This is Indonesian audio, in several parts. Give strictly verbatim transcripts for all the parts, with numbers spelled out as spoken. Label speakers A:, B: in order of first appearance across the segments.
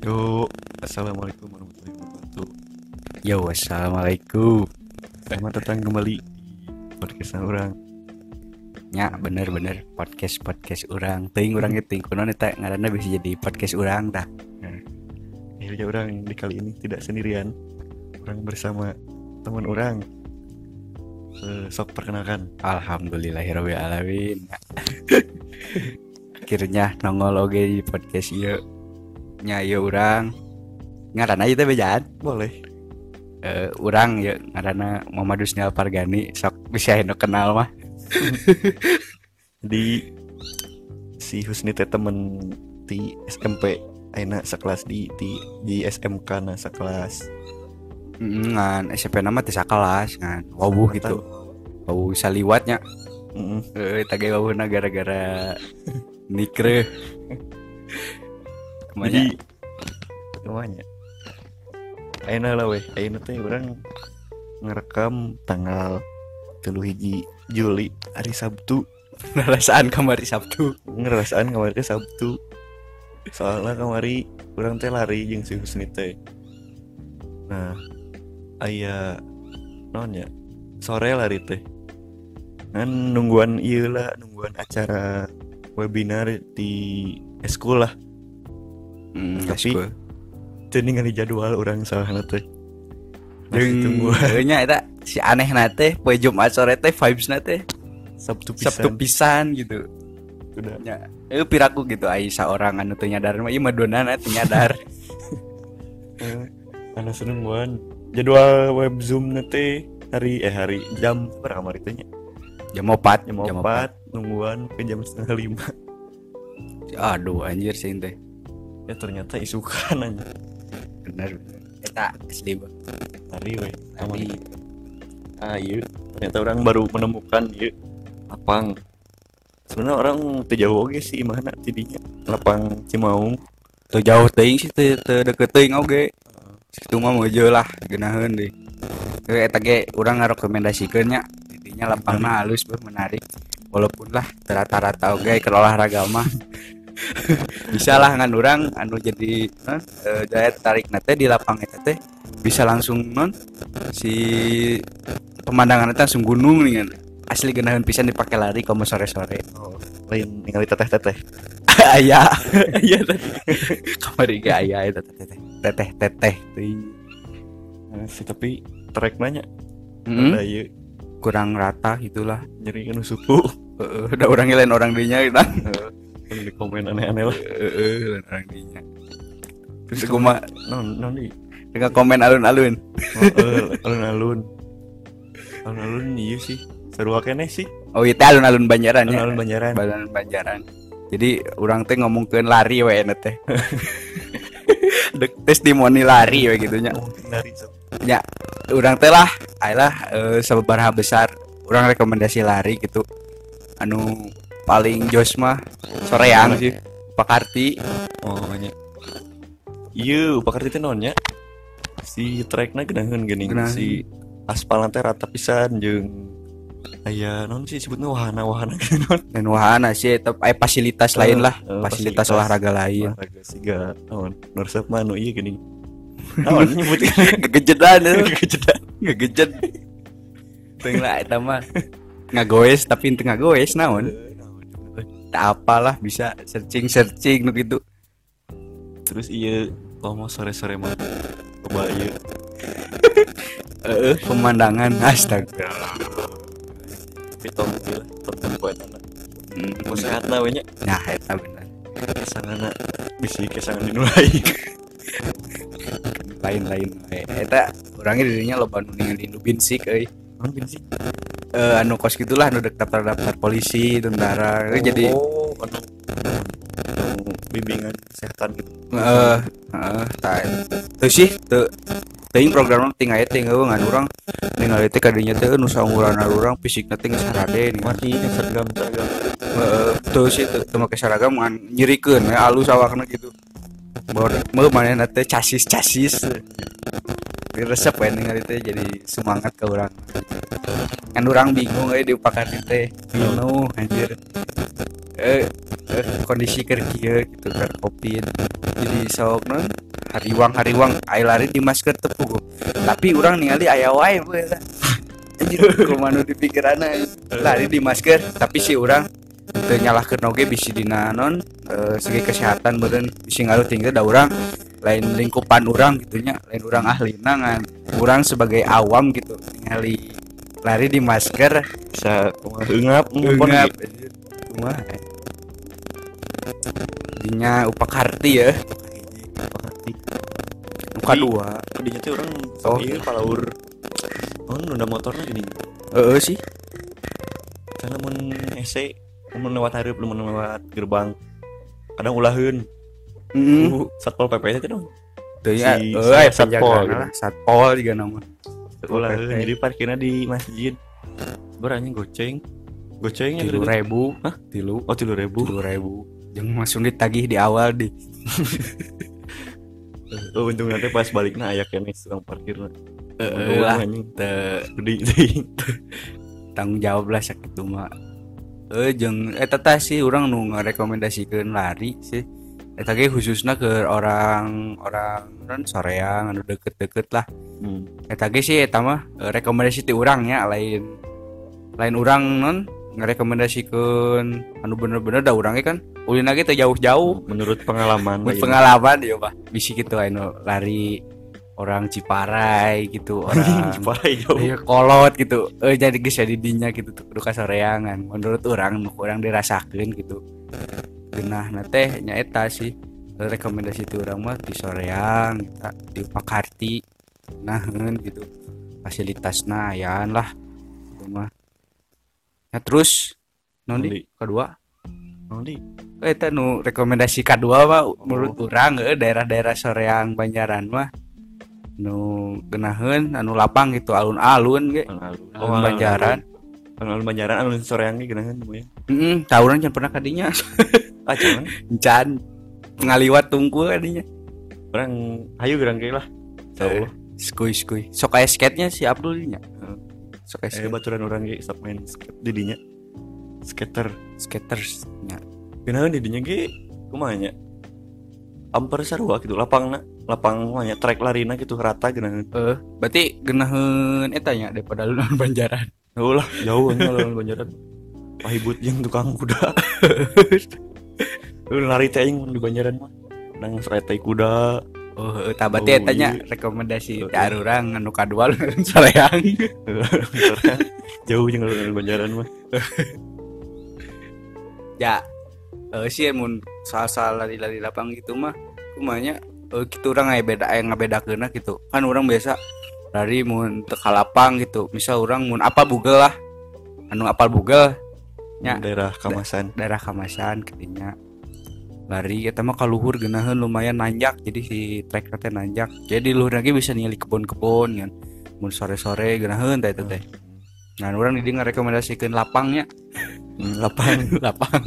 A: Yo, assalamualaikum warahmatullahi wabarakatuh.
B: Yo, assalamualaikum.
A: Selamat datang kembali di podcast orang.
B: Ya, bener-bener podcast podcast orang. Ting orang itu kuno eta ngaranna bisa jadi podcast orang dah.
A: Nah, akhirnya orang di kali ini tidak sendirian. Orang bersama teman orang. Eh, sok perkenalkan.
B: Alhamdulillahirabbil alamin. Akhirnya nongol oge di podcast ieu. Nya ieu urang. Ngaranna ieu teh bejaan.
A: Boleh.
B: Eh, urang ya ngaranna Muhammad Husni Alpargani, sok bisa eno kenal mah.
A: Di si Husni teh temen di S M P ayeuna sakelas di di di S M K na sakelas.
B: Ngan S M P nama teh sakelas ngan. Wawuh gitu. Wawuh saliwatnya.
A: Heeh.
B: Eh, tage wawuhna gara-gara nikre.
A: Jadi namanya ayeuna lah weh, ayeuna teh urang ngerekam tanggal tilu hiji Juli hari Sabtu.
B: Rasaan kamari Sabtu.
A: Ngerasaan kemarin ke Sabtu. Soalnya kemari urang teh lari jeung si Husni teh. Nah, aya naon ya? Sore lari teh. Kan nungguan ieu lah, nungguan acara webinar di eskul lah.
B: Hmm,
A: Tapi
B: cool.
A: teu ningali jadwal urang salahna teh.
B: Jeung nya eta si aneh teh poe Jumat sore teh vibes-na teh
A: Sabtu pisan.
B: Sabtu pisan gitu.
A: Udah.
B: Nya eu piraku gitu ai saorang anu teu nyadar mah ieu mah donana teu nyadar.
A: Eh, Anu senengguan jadwal web Zoom teh hari eh hari jam berapa kamari teh nya?
B: Jam opat,
A: Jam opat nungguan ke jam setengah lima.
B: Aduh anjir sih teh.
A: Ya ternyata isukan aja.
B: Bener. Eta asli Bang.
A: Hari we.
B: Tapi
A: Ah iya. Ternyata orang baru menemukan iya lapang. Sebenarnya orang teu jauh oge sih mana tidinya. Lapang Cimaung.
B: teu jauh teuing sih teu teu deket teuing oge. Situ mah meujeul lah geunaheun deui. Teu eta ge urang ngarekomendasikeun nya. Intinya lapangna halus beuh menarik. Walaupun lah rata-rata oge keur olahraga mah. Bisa lah ngan urang anu jadi non e, daya tarik nate di lapang eta teh bisa langsung non si pemandangan eta langsung gunung nih kan. Asli geunaheun pisan dipake lari komo sore-sore.
A: Oh, lain ningali teteh-teteh.
B: Aya aya tadi kamari ge aya eta teteh teteh teteh teuing.
A: Nah, sih tapi trek nanya.
B: Heeh.
A: Ada iya
B: Kurang rata gitulah.
A: nyeri kan suku.
B: Heeh, udah orang lain orang dinya kita.
A: Kan di komen aneh-aneh lah.
B: Heeh, lain orang dinya.
A: Terus
B: Terus kumaha
A: non non di.
B: dengan komen alun-alun.
A: Oh, eh, alun-alun. Alun-alun iya sih. Seru keneh sih.
B: Oh, itu alun-alun Banjaran ya.
A: Alun-alun Banjaran.
B: Alun-alun Banjaran. Jadi orang teh ngomongkeun lari we na teh. Dek testimoni lari we gitu nya.
A: Oh, dari so.
B: Ya, urang teh lah ayolah e, sababaraha besar urang rekomendasi lari gitu. Anu paling jos mah soreang sih. Pakarti.
A: Oh, nya. Iya, pakarti teh naon nya? Si trekna geunaheun geuning
B: Geunaheun.
A: si aspalna teh rata pisan jeung aya naon sih sebutna wahana-wahana gitu naon.
B: Dan wahana sih eta aya fasilitas lain lah,
A: Eh,
B: fasilitas olahraga lain.
A: Olahraga siga naon? Nursep mah anu ieu geuning. Naon nyebutkeun?
B: Gegejedan itu.
A: Kejedan.
B: Ngegejed. Teuing lah eta mah. Ngagoes tapi teu ngagoes naon. Tak apalah bisa searching-searching nu gitu.
A: Terus iya kalau mau sore-sore mah coba iya
B: Heeh, pemandangan astaga.
A: pitong gitu lah pertempuran anak
B: Hmm,
A: mau sehat lah we nya
B: nah eta bener.
A: kesanana bisi kesangan dinulai.
B: Lain-lain we. Eta urangnya dirinya loba nu ningali nu binsik euy.
A: Naon sih?
B: Eh anu kos gitulah nu dek daftar-daftar polisi, tentara. Euy jadi
A: oh anu anu bimbingan kesehatan gitu.
B: heeh, heeh, tah. Teu sih teu teuing program tinggal aya teh ngeuweung ngan urang ningali teh kadinya teh nu saunggulan urang fisikna teh geus harade nih.
A: Mati yang seragam seragam.
B: Heeh, teu sih teu teu make seragam ngan nyirikeun we alus awakna gitu. Baru mau manehna teh casis-casis. Resep we ningali teh jadi semangat ka urang. Kan urang bingung euy diupakan teh. Bingung anjir. Eh, eh kondisi keur kieu gitu kan covid. Jadi sok non hariwang hariwang aya lari di masker tepung tapi orang ningali aya wae we eta anjir kumaha di pikiranna lari di masker tapi si orang teu nyalahkeun oge bisi dina non e, segi kesehatan beureun bisi ngaruting teh da urang lain lingkupan urang gitu nya lain urang ahlina ngan urang sebagai awam gitu ningali lari di masker
A: bisa kumaha eungap
B: Ngap kumaha dinya upakarti ya
A: Pasti.
B: uka dua
A: Dinya teh urang
B: Oh.
A: ieu palaur oh nunda motorna gini.
B: heeh sih
A: Karena mun ese mun lewat hareup mun lewat gerbang kadang ulaheun.
B: heeh
A: Uh, Satpol P P teh dong.
B: teu ya
A: Si-
B: euy
A: si satpol,
B: penjagaan
A: gitu.
B: lah satpol juga nama
A: Ulaheun jadi parkirna di masjid. Berani goceng. Gocengnya
B: tilu ribu
A: Hah?
B: tilu
A: Oh tilu ribu.
B: tilu ribu jeung langsung ditagih di awal di
A: Oh untung nanti pas baliknya ayak kene tukang parkirna.
B: Heeh lah
A: anjing
B: teu
A: gede teuing.
B: tanggung jawab lah sakitu mah eh jeung eta teh sih urang nu ngarekomendasikeun lari sih eta ge khususna ke orang orang non soreang anu deket-deket lah
A: Hmm.
B: eta ge sih eta mah eh, rekomendasi ti urang nya lain lain urang non ngarekomendasikeun anu bener-bener da urang ge kan ulin ge teh jauh-jauh
A: Menurut pengalaman
B: mun
A: lain.
B: pengalaman ya Pak bisi kitu anu lari orang Ciparai gitu orang
A: Ciparai jauh.
B: iya kolot gitu eh jadi geus di dinya gitu tuh kudu kasoreangan menurut orang nu urang dirasakeun gitu geunah na teh nya eta sih rekomendasi ti urang mah di soreang eta di Pakarti naheun gitu fasilitasna ayaan lah itu mah nah terus non
A: Nundi.
B: di kedua
A: Oh, di.
B: eta nu rekomendasi kadua mah menurut urang eh, daerah-daerah soreang Banjaran mah nu geunaheun anu lapang gitu alun-alun ge
A: Alun-alun.
B: alun Banjaran
A: Alun-alun Banjaran alun soreang ge geunaheun ya.
B: heeh tah urang can pernah ka dinya
A: Ah jangan.
B: can ngaliwat tungku ka dinya
A: Orang hayu gerang ge lah. Insyaallah.
B: skuy skuy sok aya skate-nya si Abdul nya
A: Heeh.
B: sok aya
A: Eh
B: skate
A: baturan orang ge sok main skate di dinya. Skater.
B: skaters nya
A: Geunaheun di dinya ge kumaha nya? Amper sarua gitu lapangna, lapang kumaha nya trek larina gitu rata geunaheun.
B: eh berarti geunaheun eta nya daripada alun Banjaran
A: Oh lah, jauh nya alun Banjaran. Pahibut jeung tukang kuda. Lu lari teh aing di Banjaran mah. Nang srete kuda.
B: oh heuh tah berarti
A: Oh,
B: eta nya
A: iya.
B: rekomendasi
A: Heeh.
B: ti urang anu kadua soreang
A: Jauh jeung alun Banjaran mah.
B: ya eh sih mun soal-soal lari-lari lapang gitu mah kumanya eh kitu urang aya beda aya ngabedakeunna gitu kan urang biasa lari mun teu ka lapang gitu misal urang mun apal bugel lah anu apal bugel nya
A: Daerah Kamasan.
B: daerah Kamasan ketinya lari eta mah kaluhur geunaheun lumayan nanjak jadi si trek teh nanjak jadi luhur lagi bisa ningali kebun-kebun kan mun sore-sore geunaheun teh eta teh nah urang di dieu ngarekomendasikeun lapangnya
A: Hmm, lapang.
B: lapang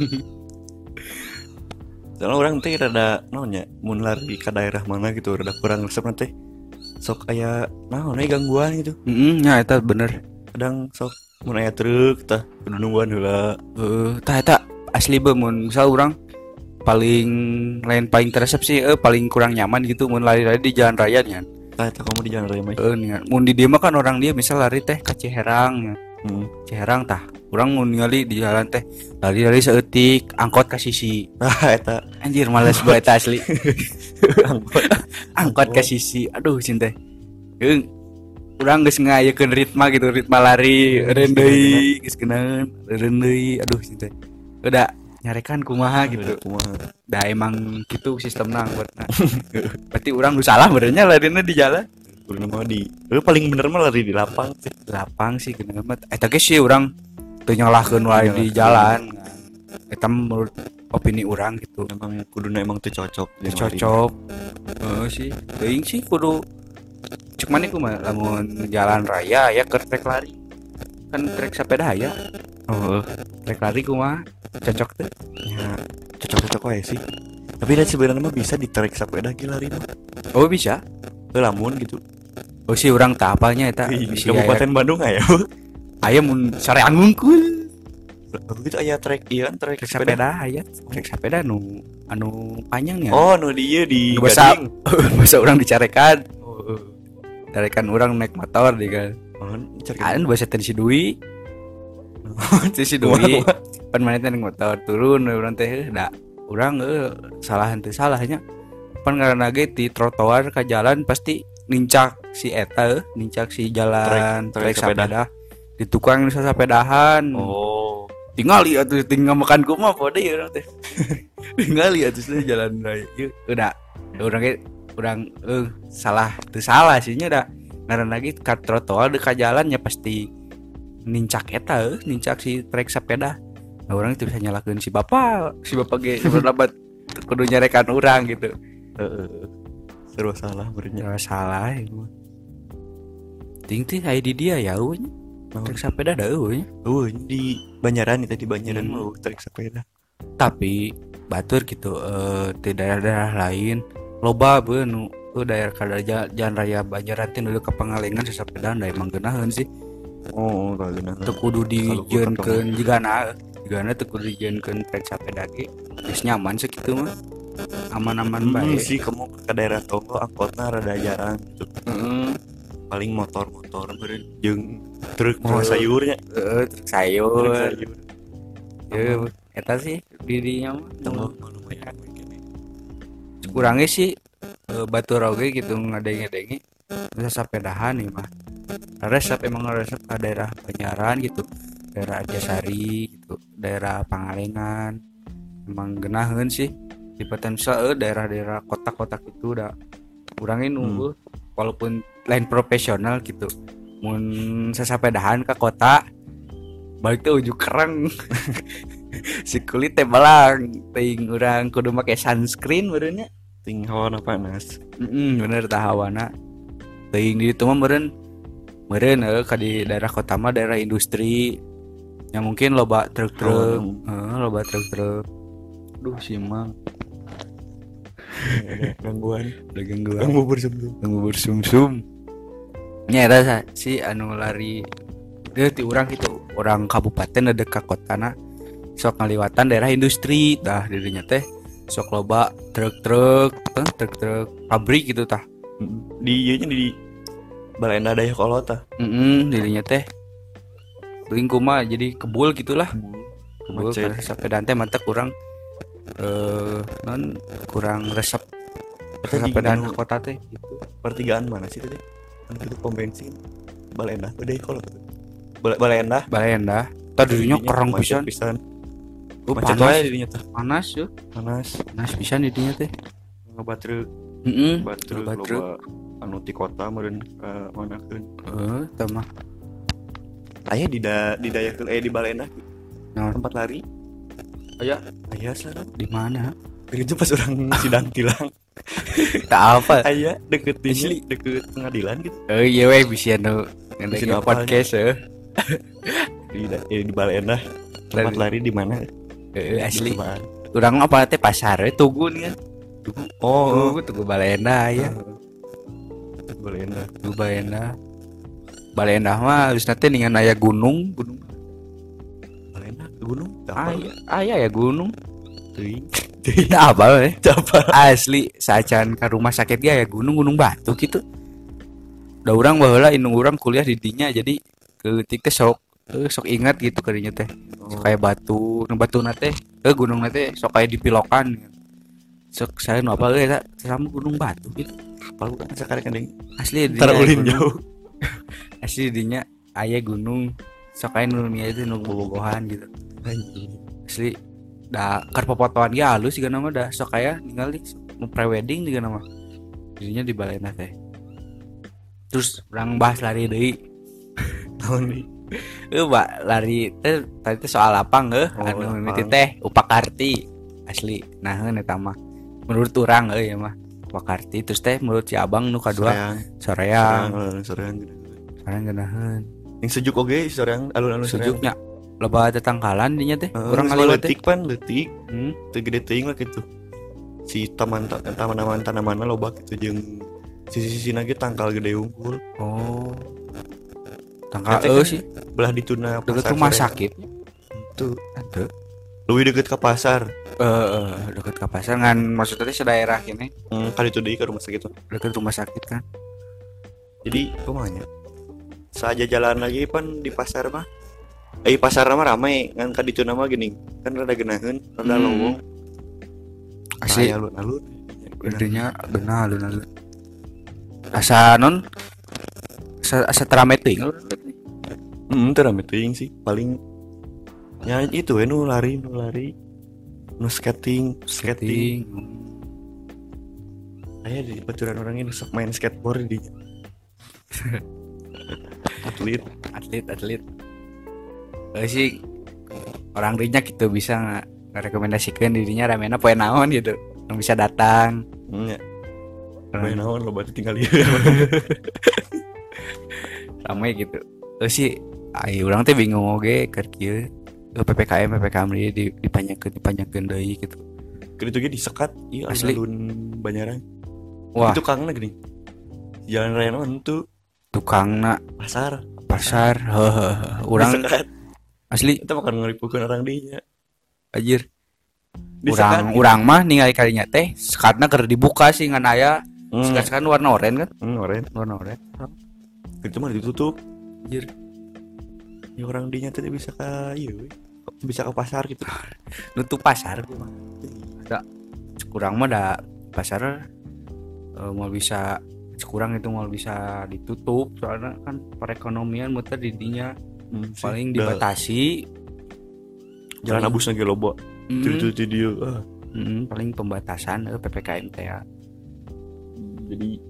A: Soalnya orang teh rada naon nya mun lari ka daerah mana gitu rada kurang resep teh. Sok aya naon aya gangguan gitu.
B: heeh nya eta bener
A: Kadang sok mun aya truk tah kudu nungguan heula.
B: eh tah eta asli beuh mun misal urang paling lain paling teresep sih eh paling kurang nyaman gitu mun lari-lari di jalan raya nya
A: Tah eta kamu di jalan raya mah.
B: eh nya mun di dieu mah kan orang dia misal lari teh ka Ciherang nya
A: Hmm.
B: Ciherang tah urang mun ningali di jalan teh lari-lari saeutik angkot ka sisi
A: Ah eta
B: anjir males buat eta asli angkot ka sisi aduh cinta heung urang geus ngayekeun ritma gitu ritma lari eureun deui geus geunaheun eureun deui aduh cinta udah nyarekan kumaha gitu
A: kumaha.
B: dah emang gitu sistemna angkotna berarti urang nu salah benernya larina di jalan
A: Kudu mah di. Eh paling bener mah lari di lapang sih.
B: lapang sih geunaheun mah eta ge sih urang teu nyalahkeun wae di jalan eta menurut opini urang gitu
A: Memang kuduna emang teu cocok. jeung lari.
B: cocok heeh sih teuing sih kudu cek mana ku mah lamun jalan raya ya ke trek lari kan trek sepeda ya
A: Oh,
B: trek lari ku mah cocok tuh
A: ya cocok-cocok wae sih. Tapi dan sebenarnya mah bisa di trek sepeda ge lari mah.
B: oh bisa
A: Teu lamun gitu.
B: oh sih urang tah apalnya eta
A: Di
B: bisi
A: Kabupaten Bandung aya.
B: aya mun soreang ngungkul
A: Aku gitu aya trek iya kan trek
B: Trek
A: sepeda.
B: sepeda aya, trek sepeda anu anu panjangnya.
A: Oh, nu di ieu di
B: Nu basa
A: Gading.
B: basa urang dicarekan.
A: Oh,
B: Carekan urang naik motor di kan.
A: oh, cari.
B: Kan basa teh si Dwi. Teh si Dwi. Pan mana teh naik motor turun urang teh da urang eh, salah henteu salahnya. Pan ngaranna ge di trotoar ka jalan pasti nincak si eta eh, nincak si jalan
A: Trek- trek
B: trek sepeda.
A: sepeda.
B: Di tukang nu sasepedahan.
A: Oh,
B: Tingali atuh tinggal makan kumaha pode ya urang teh. Tingali atuh teh jalan raya. Ieu udah urang ge urang eh salah teu salah sih nya da. Ngaran lagi ka trotoar dekat jalan ya pasti nincak eta eh nincak si trek sepeda. Nah, orang itu bisa nyalakeun si bapak, si bapak ge berlabat kudu nyarekan urang gitu.
A: heeh. Serba salah berenya.
B: Ya salah itu. Ting ting aya di dia ya euy. Trek sepeda da euy.
A: Oh, di Banjaran itu di Banjaran
B: Hmm.
A: mau trek sepeda.
B: Tapi batur gitu eh di daerah-daerah lain loba beuh nu tuh daerah kada ja- jalan raya Banjaran teh nu ke Pangalengan sasepedaan da emang geunaheun sih
A: Oh, kagena.
B: teu kudu
A: Kalau
B: dijieunkeun jigana jigana teu kudu dijieunkeun trek sepeda ge geus nyaman sakitu mah aman-aman
A: Hmm,
B: bae.
A: sih kamu ke daerah Tonggo angkotna rada jarang gitu.
B: Heeh.
A: Paling motor-motor beureun jeung truk
B: Oh,
A: sayurnya.
B: Heeh, truk
A: Truk
B: sayur.
A: sayur.
B: Ye eta sih dirinya mah.
A: Tonggo lumayan kene.
B: Kurangnya sih eh, batur oge gitu ngadenge-denge bisa sapedahan nih mah resep emang resep ke daerah Banjaran gitu daerah Arjasari gitu daerah Pangalengan emang geunaheun sih di potensial eh, daerah-daerah kota-kota gitu udah kurangin nunggu walaupun lain profesional gitu mun sasapedahan ke kota balik tuh ujuk kereng si kulit teh belang ting urang kudu make sunscreen beureunya.
A: Ting hawana panas.
B: Mm bener tah hawana. Teuing di ditu mah meureun meureun eh ka di daerah kota mah daerah industri. Yang mungkin loba truk-truk, heeh loba truk-truk. Duh si Mang
A: Ada gangguan.
B: udah gangguan.
A: Ganggu bersebelum.
B: Tunggu bersum-sum. Nya eta sa si anu lari dia ti urang gitu, orang kabupaten ada ka kotana sok ngaliwatan daerah industri tah dirinya teh sok loba truk-truk, eh, truk-truk pabrik gitu tah.
A: Di ieu nya di Balenda Dayakolot tah.
B: Heeh, dirinya teh teuing kumaha jadi kebul gitulah. Kebul
A: Macet.
B: karena sepedaan teh mantep kurang eh non kurang resep
A: Eta di
B: sepedaan
A: anu
B: ke kota teh gitu.
A: pertigaan mana sih tadi? Kan itu pom bensin. Balenda Dayakolot. Bal- Balenda.
B: Balenda tah dirinya kerang
A: Macet
B: pisan.
A: pisan.
B: Oh,
A: Macet
B: panas,
A: wae dirinya tah.
B: panas ya.
A: Panas.
B: Panas pisan dirinya teh.
A: Loba truk,
B: Heeh.
A: loba truk,
B: Loba truk.
A: loba anu ti kota meureun ka manakeun.
B: Heeh, tah mah.
A: Aya di da di Dayakeul eh di Balenda
B: Naon?
A: tempat lari.
B: Aya
A: Aya sana.
B: di mana?
A: Itu pas orang sidang tilang.
B: Tak apa.
A: Aya deket
B: Asli.
A: ini, deket pengadilan gitu.
B: Oh iya weh bisa nu
A: Bisa
B: ngedengerin
A: apa
B: podcast eh.
A: Di da- eh, di Balenda. Tempat lari di mana?
B: Heeh, asli.
A: Apaan?
B: Urang apa teh pasar we tugu nih kan.
A: Oh,
B: Tugu tugu Balenda ya.
A: Balenda.
B: Tugu Balenda. Balenda mah geus teh ningan aya gunung, gunung.
A: Balenda ke gunung.
B: Aya, aya ya gunung.
A: Teuing.
B: Tidak apa we.
A: Apa?
B: Asli saacan ka rumah sakit ge aya gunung-gunung batu gitu. Da urang baheula indung urang kuliah di dinya jadi keutik teh sok eh, sok ingat gitu kadinya teh. Sok aya batu, nu batuna teh eh gunung teh sok aya dipilokan. Sok saya nu apa euy eta sama gunung batu gitu.
A: Apa bukan sekarang kan ding.
B: Asli di
A: Tar
B: dinya aya
A: ulin
B: gunung.
A: jauh.
B: Asli di dinya aya gunung. Sok aya nu nya itu nu bobogohan gitu.
A: Anjing.
B: Asli da keur popotoan ge halus juga nama da sok aya ningali nu pre-wedding juga nama. Dirinya di Balena teh. Terus urang bahas lari deui.
A: Tahun ini.
B: Eh, Mbak, lari teh tadi teh soal lapang heuh,
A: Oh,
B: anu
A: lapang.
B: mimiti teh Upakarti. Asli. Naheun eta mah. Menurut urang euy ya mah. Upakarti terus teh menurut si Abang nu kadua
A: Soreang.
B: Soreang.
A: Soreang, Soreang.
B: Soreang geunaheun.
A: Yang sejuk oge Soreang, alun-alun Soreang.
B: Sejuknya loba tetangkalan dinya teh.
A: Heeh,
B: Urang
A: kalau
B: ngaliwat teh.
A: leutik pan leutik.
B: Hmm.
A: Teu gede teuing lah gitu. Si taman taman-taman tanamanna loba gitu jeung sisi-sisina ge tangkal gede unggul.
B: Oh. Tangkal
A: Eta
B: eueuh
A: kan
B: sih
A: belah dituna
B: deket
A: pasar
B: rumah
A: Soreang.
B: sakit.
A: Itu
B: Ada.
A: lebih deket ke pasar.
B: Eh uh, dekat ke pasar kan maksudnya teh sedaerah ini
A: Hmm, kali itu deh ke rumah sakit tuh.
B: dekat rumah sakit kan.
A: Jadi kumanya saja jalan lagi pan di pasar mah. Eh pasar mah ramai kan kali itu nama gini kan rada genaheun, rada
B: Hmm.
A: lowong.
B: Asli
A: alun-alun.
B: intinya benar alun-alun. Asa non asa, asa terame teuing.
A: Hmm, itu rame teuing sih paling ya itu we nu lari nu lari nu skating skating aya di baturan orang ini sok main skateboard di atlet
B: atlet atlet. Eh sih orang dinya gitu bisa nggak rekomendasikan dirinya ramena poe naon gitu yang bisa datang.
A: nya main naon lo berarti tinggal ieu
B: ramai gitu. Eh sih ai urang teh bingung oge keur kieu P P K M P P K M di dipanjangkeun dipanjangkeun deui gitu.
A: Keur itu ge disekat ieu
B: Asli.
A: alun Banyaran.
B: Wah,
A: Itu kangna geuning. Jalan raya naon tuh
B: tukangna
A: pasar.
B: pasar heuh urang
A: Disekat.
B: asli
A: Kita makan ngeripukeun orang dinya.
B: anjir.
A: Disekat.
B: Urang urang mah ningali kalinya teh sekatna keur dibuka sih ngan aya
A: Hmm,
B: sekat-sekat warna oranye kan?
A: hmm, oren.
B: Warna oranye.
A: Itu mah ditutup.
B: Anjir.
A: Ya orang dinya teh bisa ka ieu we. Bisa ke pasar gitu.
B: Nutup pasar gua mah. Ada kurang mah da pasar eh, mau bisa kurang itu mau bisa ditutup soalnya kan perekonomian muter di dinya
A: Hmm, sih.
B: paling
A: Da-
B: dibatasi.
A: jalan
B: paling-
A: abus lagi loba.
B: Mm,
A: Itu itu dia. Ah.
B: mm, paling pembatasan eh, P P K M teh ya.
A: Jadi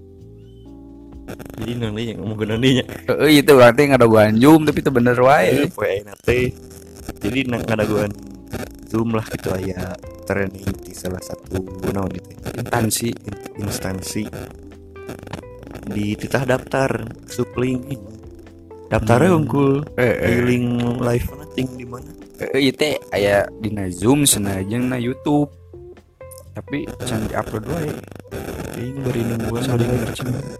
A: jadi nanti yang ngomong nantinya.
B: Heeh itu berarti ngadaguan Zoom tapi itu bener wae.
A: Eh, poe ayeuna teh. Jadi nang ngadaguan Zoom lah gitu aya training di salah satu naon itu
B: Instansi
A: instansi di titah daftar supling daftarnya
B: Hmm.
A: unggul
B: eh eh
A: link live nating di mana
B: eh ieu teh aya dina Zoom senajan na YouTube. Tapi can di-upload wae.
A: ini bari nungguan
B: Sorry,
A: bari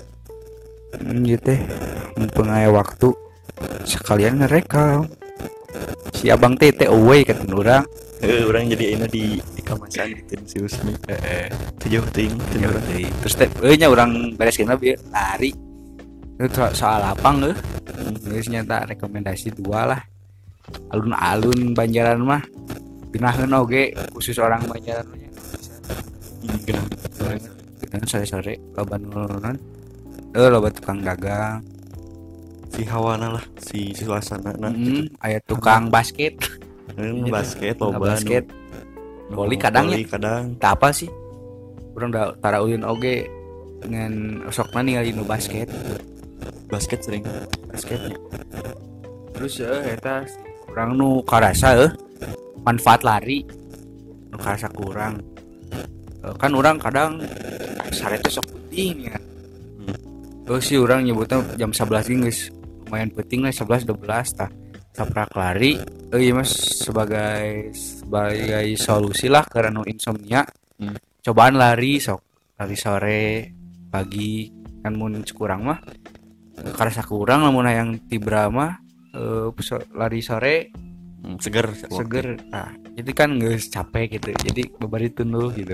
B: Hmm, ieu teh mumpung aya waktu sekalian ngerekam. Si abang teh teh away kata urang.
A: eh orang jadi enak di di kamasan gitu si Usmi
B: Heeh.
A: tujuh ting
B: Ya udah deui. Terus teh euy nya urang bereskeun bieu lari. Itu so- soal lapang euy. Geus nyata rekomendasi dua lah. Alun-alun Banjaran mah binaheun oge khusus orang Banjaran nya.
A: ini genah
B: Kan sore-sore loba nurunan. Eh loba tukang dagang.
A: si hawana lah si, si suasana nah
B: Mm, aya tukang basket.
A: gitu. basket
B: Tukang
A: loba
B: basket.
A: nu-
B: Voli kadang
A: voli kadang
B: Tak apa sih? Urang da tara ulin oge dengan sokna ningali nu basket.
A: basket sering
B: Basketnya. Terus eh eta urang nu karasa eh manfaat lari nu karasa kurang. Eh, kan orang kadang sare teh sok penting ya.
A: Hmm.
B: Terus sih orang nyebutnya jam sebelas geus lumayan penting lah sebelas dua belas tah. Saprak lari eh iya mas sebagai sebagai solusi lah karena nu insomnia.
A: Hmm.
B: Cobaan lari sok lari sore pagi kan mun kurang mah eh, karasa kurang lamun yang tibra mah eh, so- lari sore
A: Hmm, seger
B: seger nah jadi kan nggak capek gitu jadi babari tunduh gitu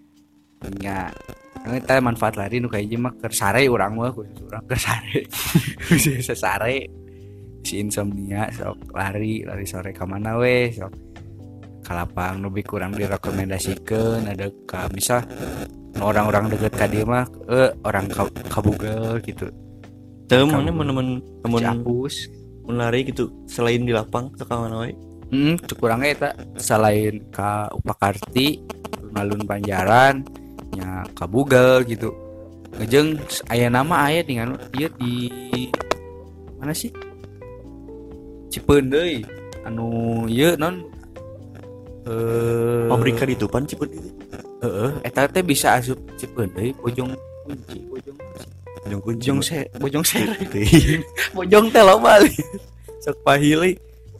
B: ya kita manfaat lari nu kayak mah keur sare urang mah khusus urang keur sare khusus sare si insomnia sok lari lari sore ka mana we sok kalapang lebih kurang direkomendasikeun ada ka misal nu orang-orang deket ka dieu mah eh orang ka, kabugel gitu
A: teu
B: Kamu-
A: mana temen temen
B: Ciapus.
A: menari gitu selain di lapang ke mana wae
B: Hmm, kurangnya eta selain ka Upakarti, alun Banjaran, nya ka Bugel gitu. Ngejeng aya nama aya di anu ieu di mana sih? Cipeun deui. Anu ieu non eh
A: pabrika ditupan Cipeun itu
B: heeh eta teh bisa asup Cipeun deui Bojong Kunci, Bojong
A: Bojong kunci
B: Bojong se Bojong Sere.
A: Teuing.
B: Bojong teh loba li. Sok pahili.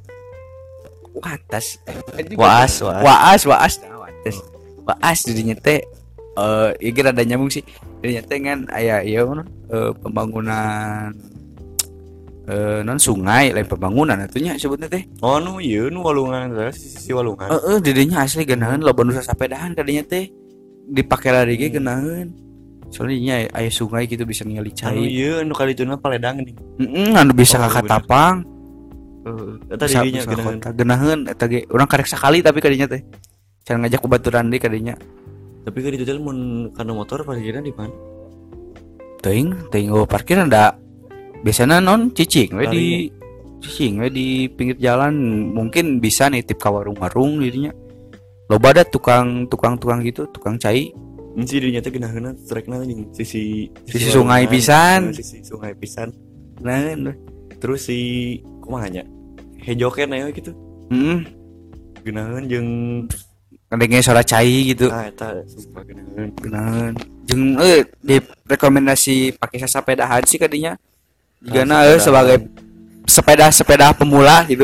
B: Watas.
A: waas waas
B: Waas, waas, nah, watas. Waas dirinya teh eh ieu ge rada nyambung sih. Dirinya teh kan aya ieu eh, pembangunan eh non sungai lain pembangunan atunya sebutnya teh.
A: Oh nu ieu nu walungan teh sisi walungan.
B: Heeh, didinya asli geunaheun loba nu sasapedahan kadinya teh. Dipake lari ge geunaheun. Soalnya nya aya sungai gitu bisa ningali
A: Anu
B: cai.
A: ieu nu kalituna Paledang nih.
B: Heeh, anu bisa
A: Oh,
B: ka
A: bener.
B: Katapang.
A: Heeh, eta
B: Bisa
A: didinya
B: bisa
A: geunaheun.
B: kota geunaheun eta ge urang karek sakali tapi kadinya teh. Can ngajak babaturan deui kadinya.
A: Tapi kan itu teh mun kana motor parkirna di mana?
B: Teuing, teuing eueuh parkir da biasana non cicing we
A: Lari.
B: di cicing we di pinggir jalan mungkin bisa nitip ka warung-warung dirinya. Loba ada tukang tukang tukang gitu, tukang cai.
A: Mun si didinya teh geunaheunna trekna jeung sisi
B: Sisi sungai
A: walungan.
B: pisan.
A: Heeh, sisi sungai pisan.
B: Nah,
A: Terus si kumaha nya? Hejoken aya gitu.
B: heeh,
A: Geunaheun jeung
B: kadenge suara cai gitu.
A: ah eta sumpah geunaheun.
B: Geunaheun. Jeung eh di rekomendasi pakai sasapedahan sih kadinya. Jigana
A: Ah,
B: eh sebagai sepeda-sepeda pemula gitu.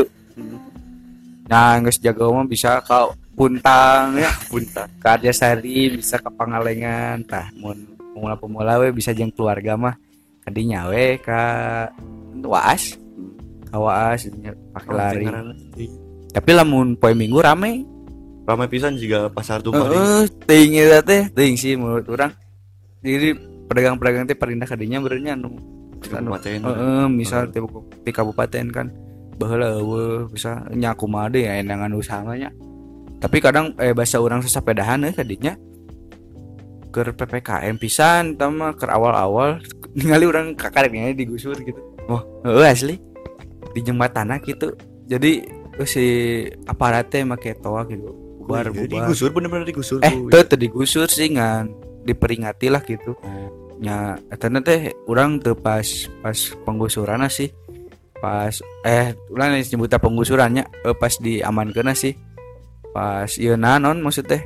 B: Nah, geus jago mah bisa ka Puntang ya,
A: Punta.
B: ka Arjasari, bisa ke Pangalengan. Tah, mun pemula-pemula we bisa jeung keluarga mah kadinya we ka Waas. Ka Waas pakai lari. Tapi lamun poe Minggu rame.
A: Ramai pisan juga pasar tumpah di
B: Heeh, teuing eta teh, teuing sih menurut urang. Jadi pedagang-pedagang teh parindah kadinya beurnya anu
A: kabupaten.
B: heeh, misal di, di kabupaten kan baheula eueuh bisa nya kumaha deui aya nangan usaha nya. Tapi kadang eh bahasa urang sasapedahan euy kadinya keur P P K M pisan eta mah keur awal-awal ningali urang kakarengnya digusur gitu. Wah, heueuh asli. Di jembatanna gitu. Jadi eh, si aparat teh make toa gitu. Bubar
A: Oh, iya,
B: bubar.
A: digusur bener-bener digusur
B: Eh,
A: tuh.
B: teu teu digusur sih ngan diperingati lah gitu. Nya eta teh urang teu pas pas penggusuranna sih. Pas eh urang nyebutna penggusurannya eh, pas diamankeunna sih. Pas ieu na non maksud teh.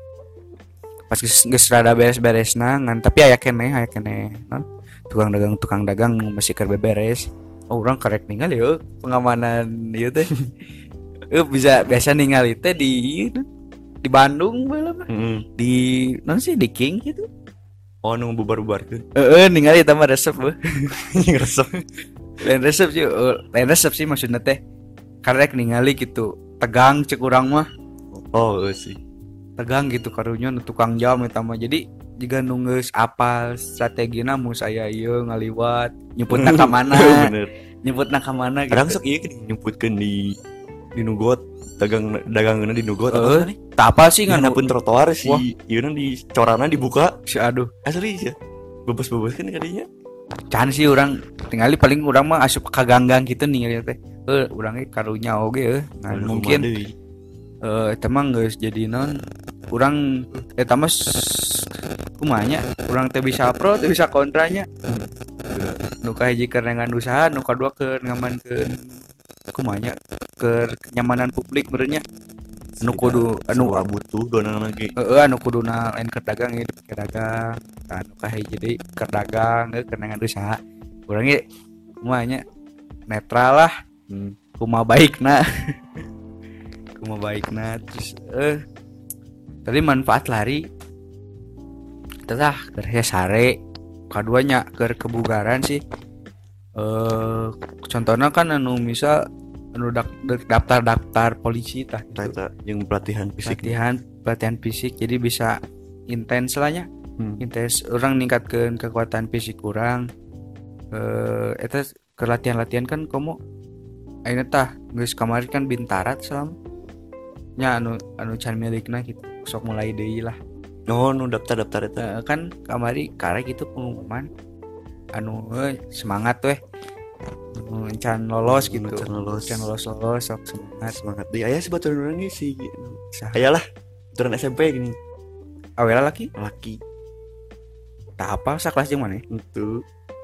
B: Pas geus geus rada beres-beresna ngan tapi aya keneh aya keneh non. Tukang dagang tukang dagang nu masih keur beberes. Oh, urang karek ningali yeuh pengamanan ieu teh. Eh bisa biasa ningali teh di ieu, di Bandung bae lah mah.
A: Heeh.
B: Di non sih di King gitu.
A: Oh nu bubar-bubarkeun.
B: Heeh, ningali eta mah resep we.
A: Resep.
B: Lain resep sih, eh, lain resep sih maksudnya teh. Karek ningali gitu, tegang cek urang mah.
A: Oh, euy sih.
B: Tegang gitu karunya nu tukang jam eta mah. Jadi jika nunggeus apal strategina mun saya ieu ngaliwat, nyebutna ka mana,
A: Bener.
B: nyebutna ka mana
A: Kadang
B: gitu.
A: sok ieu geuning nyebutkeun di di nugot dagang dagangeuna di nugot
B: Heeh,
A: apa nih?
B: tah apa sih
A: Ngan
B: nganu
A: pun trotoar si
B: Wah.
A: ieu di corana dibuka.
B: si aduh.
A: Asli ya. Bebas-bebas kan kadinya.
B: Can sih urang tingali paling urang mah asup ka ganggang gitu ningali teh. Heuh, urang ge karunya oge euy. Nah,
A: Anu
B: mungkin
A: kumaha deui.
B: eh eta mah geus jadi non urang eta mah s- kumaha nya urang teh bisa pro teh bisa kontranya. Nu kahiji keur nengan usaha, nu kadua keur ngamankeun kumaha nya keur kenyamanan publik beurnya. Anu kudu anu
A: Semua butuh donang lagi.
B: heeh anu kuduna lain keur dagang ieu dipake dagang. Tah anu kahiji deui keur dagang heuh keur nengan usaha. Urang ge kumaha nya netral lah.
A: Hmm.
B: Kumaha baikna. Kumaha baikna terus eh tadi manfaat lari tetah keur sare kaduanya keur kebugaran sih eh contohnya kan anu misal anu dak- dak- daftar-daftar polisi tah gitu.
A: Eta yang pelatihan fisik.
B: Pelatihan pelatihan fisik jadi bisa intens lah nya
A: Hmm.
B: intens orang ningkatkeun kekuatan fisik orang eh eta keur latihan-latihan kan komo ayeuna tah geus kamari kan Bintara selama nya anu anu can milikna gitu sok mulai deui lah.
A: Oh, nu daftar-daftar eta.
B: Eh, kan kamari karek itu pengumuman anu eh, semangat weh Nu can lolos gitu
A: Can lolos.
B: can lolos lolos sok semangat
A: Semangat deui. Aya sebaturan urang ge si
B: Sah.
A: aya lah. Turun S M P gini.
B: awela laki
A: Laki
B: tah apa sakelas jeung maneh
A: itu.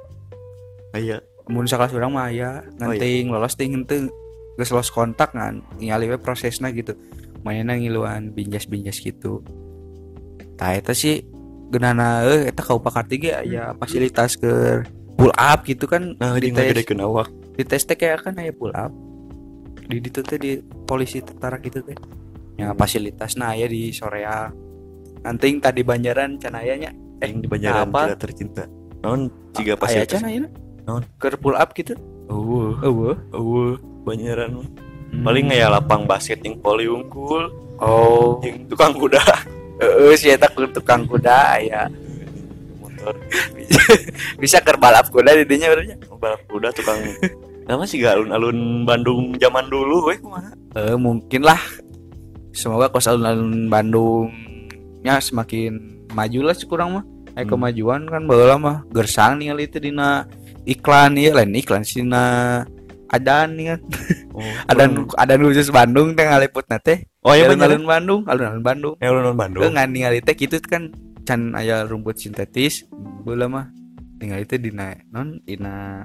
A: Aya.
B: mun sakelas urang mah aya nganting lolos ting henteu geus lolos kontak ngan ningali we prosesna gitu mainna ngiluan binjas-binjas gitu tah eta sih geunana euy eta ka Upakarti ge aya fasilitas keur pull up gitu kan
A: Nah,
B: di
A: jeung
B: tes
A: ngagedekeun awak.
B: di tes teh kayak kan aya pull up di ditu teh di polisi tentara gitu teh ya fasilitasna aya di Soreang anting tadi Banjaran can aya nya
A: Yang di Banjaran
B: apa?
A: tidak tercinta. Naon ciga
B: aya
A: fasilitas.
B: can aya
A: Naon?
B: keur pull up gitu
A: Eueuh,
B: Eueuh.
A: eueuh, Banjaran mah.
B: Hmm.
A: Paling aya lapang basket yang poli unggul,
B: Oh.
A: yang tukang kuda,
B: Heeh, si eta ku tukang kuda aya.
A: motor,
B: Bisa keur balap kuda di dinya urang nya.
A: balap kuda, tukang nama sih gak alun-alun Bandung zaman dulu we kumaha.
B: Eh, mungkin lah. Semoga kos alun-alun Bandungnya semakin maju lah kurang mah. Eh,
A: Hmm.
B: kemajuan kan baheula mah gersang ningali teh dina iklan ieu lain iklan sina adan nih kan.
A: Oh,
B: Adan
A: kurang-
B: adan khusus Bandung teh ngaliputna teh.
A: Oh iya bener.
B: alun-alun Bandung, alun-alun Bandung.
A: Ya alun-alun Bandung.
B: Ngan ningali teh kitu kan can aya rumput sintetis. Baheula mah ningali teh dina non dina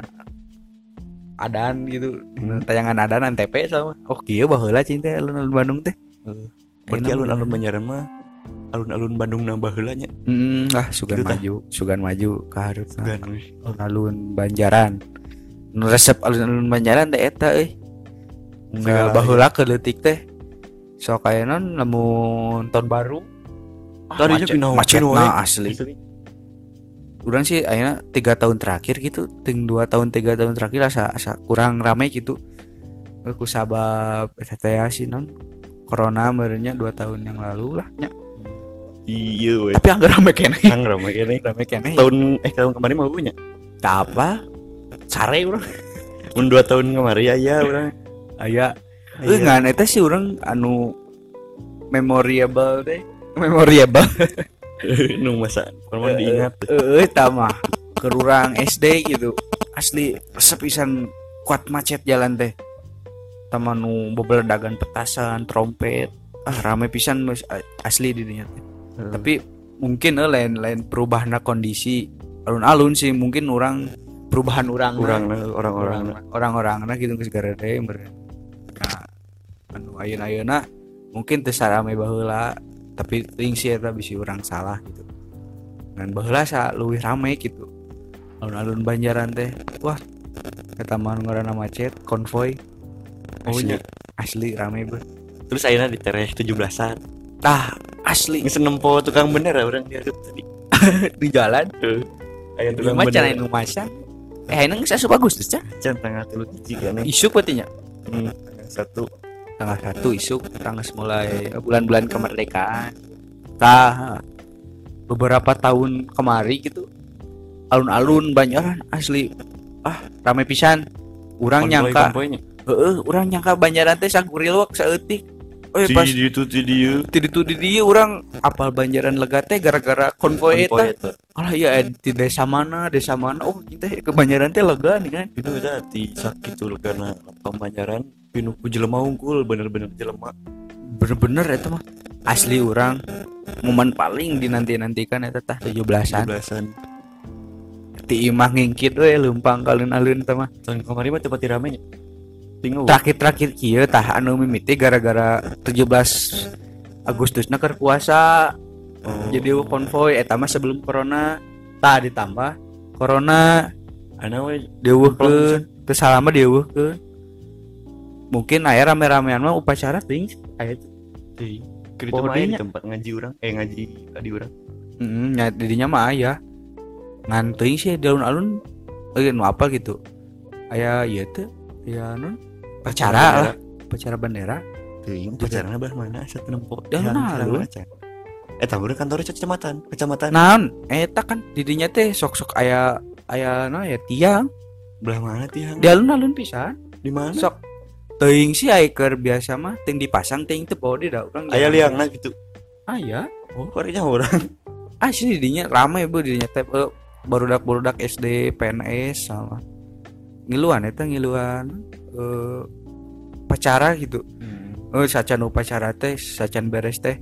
B: adan gitu, dina tayangan adan Antv sama. Oh kieu baheula cing teh alun-alun Bandung teh.
A: Berarti
B: Enak,
A: alun-alun
B: bener.
A: Banjaran mah alun-alun Bandung nambah heula nya.
B: Hmm, ah sugan
A: Gitu tah.
B: maju, sugan maju ka hareup
A: Gan we.
B: alun-alun Banjaran. Nu resep alun-alun Banjaran teh eta euy. Enggak
A: Segala
B: baheula ke leutik teh. Sok aya non lamun tahun baru. Ah,
A: Tadinya
B: macet-
A: pinaw-
B: macetna
A: pinaw,
B: asli.
A: Gitu.
B: Urang sih ayeuna tiga tahun terakhir gitu, ting dua tahun tiga tahun terakhir asa asa kurang rame gitu. Eh, ku sabab eta teh sih non corona meureunnya dua tahun yang lalu lah nya.
A: Iya we.
B: Tapi anggar rame keneh.
A: Kang rame kene.
B: Rame keneh.
A: Tahun eh tahun kemarin mah punya.
B: Tah apa? Sare urang.
A: Mun dua tahun kemarin aya urang.
B: Aya euy ngan eta sih urang anu memorable teh. Memorable.
A: Nu masa pernah diingat.
B: Euy tah mah keur urang S D gitu. Asli resep pisan kuat macet jalan teh. Tama nu bebeledagan petasan, trompet. Ah rame pisan mas- asli di dinya teh. Tapi mungkin eh, lain lain perubahan kondisi alun-alun sih mungkin orang perubahan orang
A: Urang orang-orang
B: orang-orang nah gitu geus garede meureun. Nah anu ayeuna-ayeuna mungkin teu sarame baheula tapi teuing sih eta bisi urang salah gitu. Ngan baheula sa leuwih rame gitu. Alun-alun Banjaran teh wah eta mah ngaranna macet konvoy.
A: Oh,
B: Asli,
A: nya.
B: asli rame beuh.
A: Terus ayeuna di tereh tujuh belasan.
B: Tah asli
A: Geus nempo tukang bener urang dihareup tadi.
B: di jalan
A: Heuh. Aya tukang
B: Lima can
A: bener.
B: anu masang. Eh ini geus asup Agustus can.
A: Can tanggal tilu hiji kan.
B: Isuk berarti nya.
A: Hmm, tanggal satu.
B: Tanggal satu isuk tanggal mulai eh, bulan-bulan kemerdekaan. Tah beberapa tahun kemari gitu alun-alun Banjaran asli ah rame pisan. Urang nyangka
A: Konvoy-konvoynya.
B: heeh, urang nyangka Banjaran teh sagurilwak saeutik. Eh pas
A: Di itu di dieu.
B: di ditu di dieu urang apal Banjaran lega teh gara-gara konvoy eta.
A: eta.
B: Alah ya di desa mana, desa mana. Oh, teh ke Banjaran teh lega nih kan.
A: Itu udah di sakit tuh karena Banjaran pinuh ku jelema unggul bener-bener jelema.
B: Bener-bener eta mah asli orang momen paling dinanti-nantikan eta tah tujuh belasan
A: tujuh belasan.
B: ti imah ngingkit we leumpang ka alun-alun teh mah
A: Tahun kemarin mah tempat rame nya. Tinggal
B: terakhir-terakhir kieu tah anu mimiti gara-gara tujuh belas Agustusna keur puasa
A: oh,
B: jadi konvoy eta mah sebelum corona tah ditambah corona
A: ana we
B: dieuweuhkeun teu salama dieuweuhkeun mungkin aya rame-ramean mah upacara teuing aya
A: di keur
B: Oh,
A: itu mah aya di
B: dinya.
A: tempat ngaji urang eh ngaji tadi urang.
B: heeh nya di dinya mah aya ngan teuing sih di alun-alun eh nu apa gitu aya ieu teh ya non upacara lah upacara bendera
A: Teuing pacarana belah mana asa teu nempo.
B: Ya, alun-alun.
A: Eh tahu kantor kecamatan, kecamatan.
B: naon eta kan di dinya teh sok-sok aya aya naon ya tiang
A: Belah mana tiang?
B: di alun-alun pisan
A: Di mana?
B: sok teuing sih aya keur biasa mah teuing dipasang teuing teu bawa di da urang
A: Aya liangna gitu.
B: aya
A: Oh, korenya orang.
B: asli di dinya rame bu di dinya teh eh, barudak-barudak S D P N S sama ngiluan eta ngiluan eh pacara gitu
A: Hmm.
B: eh sacan upacara teh sacan beres teh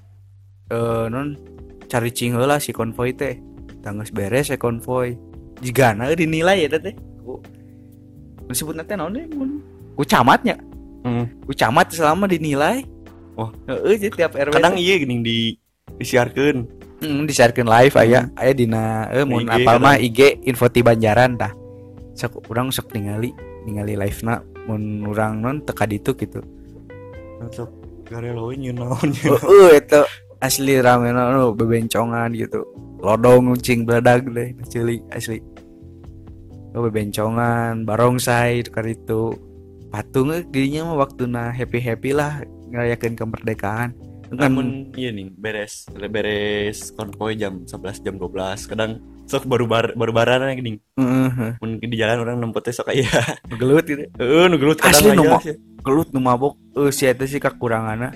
B: eh non cari cing heula si konvoy teh tangges beres ya konvoy jigana dinilai eta teh ku disebutna teh naon deh mun ku camatnya
A: Hmm.
B: ku camat selama dinilai
A: Oh.
B: heeh jadi tiap R W
A: Kadang
B: teh,
A: iya gini di disiarkeun.
B: mm, disiarkeun live aya aya dina eh mun
A: I G
B: apal mah
A: kadang.
B: I G info ti Banjaran tah sok urang sok ningali ningali live na mun urang non teka ditu gitu
A: Untuk garelo we nyeun naon.
B: heeh eta asli rame nu bebencongan gitu lodong cing beladag deh ceulik asli oh bebencongan barongsai tukar itu patung eh, dirinya mah waktu na happy happy lah ngerayakan kemerdekaan kan.
A: Namun iya nih beres beres konvoy jam sebelas jam dua belas kadang sok baru bar baru baran gini.
B: Heeh.
A: Mun di jalan orang nempotnya sok aya.
B: Gelut gitu
A: Heeh nu gelut kadang
B: asli nu
A: aya
B: ma-
A: sih.
B: gelut nu mabok eh si eta sih kakuranganna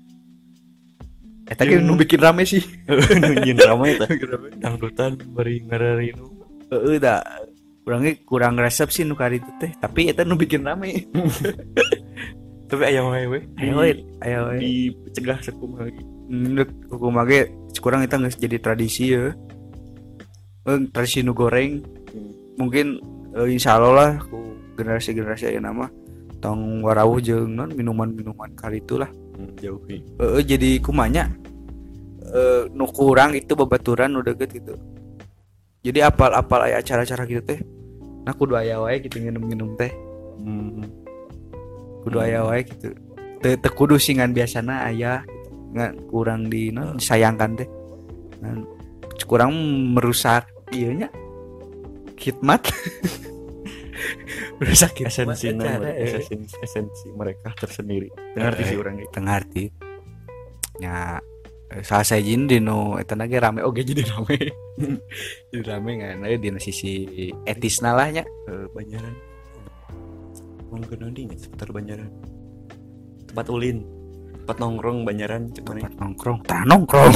B: eta
A: Jeung-
B: ge nu bikin rame sih.
A: Heeh nu nyin ramai eta. Dangdutan bari ngararinu.
B: Heeh da urangnya kurang resep sih nu kari itu teh tapi eta nu bikin rame.
A: Tapi aya wae we.
B: Ayo we, ayo we.
A: Dicegah sakumaha lagi.
B: Ndek hukum mage kurang eta geus jadi tradisi ya. Eh, tradisi nu goreng mungkin eh, insya Allah lah ku generasi-generasi ayeuna mah tong warawuh jeung non minuman-minuman kali itulah.
A: Hmm, jauhi.
B: Heeh jadi kumanya eh nu kurang itu babaturan nu deukeut gitu. Jadi apal-apal aya acara-acara gitu teh. Nah kudu aya wae gitu nginum-nginum teh.
A: Hmm.
B: Kudu aya wae gitu. Teu teu kudu singan biasana aya gitu. Ngan kurang di non disayangkan teh. Ngan kurang merusak ieu nya khidmat. Merusak khidmat
A: Esensi
B: acara, eh.
A: esensi esensi mereka tersendiri. Ngerti sih orang
B: Teu ngarti. Nya eh, salah sajin dino eta na ge rame oge jadi rame. Jadi rame ngan aya dina sisi etisna lah nya.
A: eh, Banyaran. Mau ke nanti nggak seputar Banyaran. Tempat ulin, tempat nongkrong Banyaran cek mana?
B: Tempat nongkrong, tah nongkrong.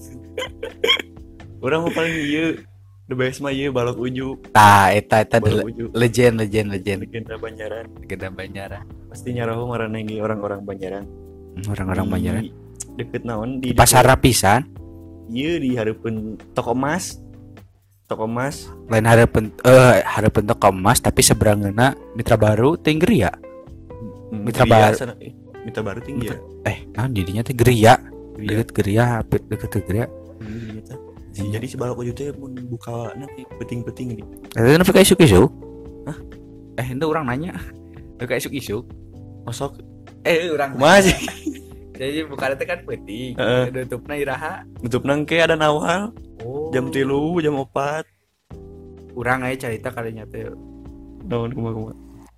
A: Orang mau paling iya, the best mah iya balok uju,
B: Tah eta eta
A: balok
B: de-
A: uju.
B: legend legend legend
A: Legenda Banyaran.
B: legenda Banjaran.
A: Pasti nyarahu marana ge orang-orang Banyaran.
B: Orang-orang
A: Di
B: Banjaran.
A: Deket naon di
B: Pasar Rapisan,
A: Iya di hareupeun toko emas. Toko emas.
B: lain hareupeun eh hareupeun toko emas tapi seberangeuna Mitra Baru teh Geria.
A: Hmm,
B: Mitra
A: Geria
B: Baru.
A: sana, eh, Mitra Baru tinggi ya.
B: Eh, naon didinya teh Geria.
A: Geria.
B: Deket Geria, hampir deket ke Geria.
A: Hmm, gitu. Jadi si balok uju teh mun buka nanti peting-peting nih.
B: Eta nepi ka isuk-isuk. Hah? Eh, itu orang nanya. Nepi ka isuk-isuk.
A: Masuk
B: Eh, orang
A: masih
B: jadi bukan teh kan penting.
A: Heeh.
B: Tutupna iraha.
A: nutup nangke ada nawal
B: Oh.
A: jam tilu jam opat.
B: Urang aya carita kalinya teh
A: Naon kumaha-kumaha.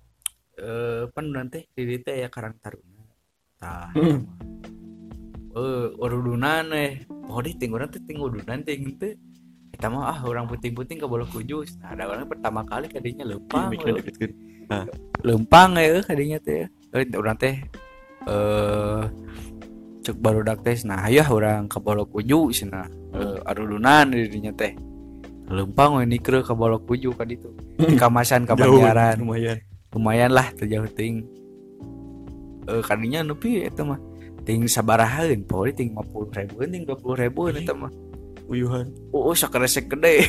B: eh pan nanti di dieu teh aya Karang Taruna. Tah.
A: Hmm.
B: Eh, urudunan eh. Oh, di ting urang teh ting urudunan ting teh. Eta mah ah urang puting-puting ka bola kujus. Nah, ada orang pertama kali kadinya leumpang.
A: Mik deket-deket.
B: Leumpang eh kadinya teh. Eh urang teh eh cek barudak teh nah hayah urang ka bola kuju cenah. Eh arudunan di dinya teh. Leumpang we nikreu ka bola kuju ka ditu. Di kamasan ka
A: Jauh,
B: Banjaran.
A: lumayan.
B: Lumayan lah terjauh ting eh kadinya nepi eta mah ting sabarahaeun poe ting lima puluh ribu ting dua puluh ribu eta mah
A: Uyuhan.
B: oh sakeresek gede.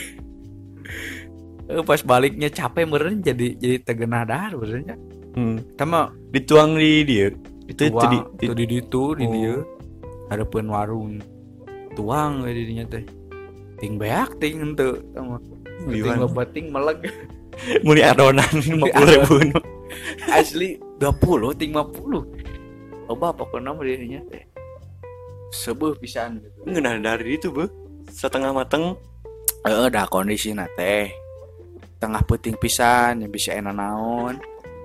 B: Eh pas baliknya capek meureun jadi jadi tegenah dahar benernya
A: Hmm.
B: eta mah
A: Dituang di dia. Itu itu di, di,
B: tuang di ditu di
A: Oh.
B: dieu hareupeun warung tuang we di dinya teh ting beak ting henteu eta mah ting
A: uyuhan.
B: loba ting meleg
A: Muli adonan lima puluh ribu.
B: asli dua puluh ting lima puluh loba pokona mah di dinya teh sebeuh pisan gitu.
A: Ngeunah dari itu, Bu. Setengah mateng.
B: Heeh, dah kondisina teh tengah peuting pisan yang bisa enak naon.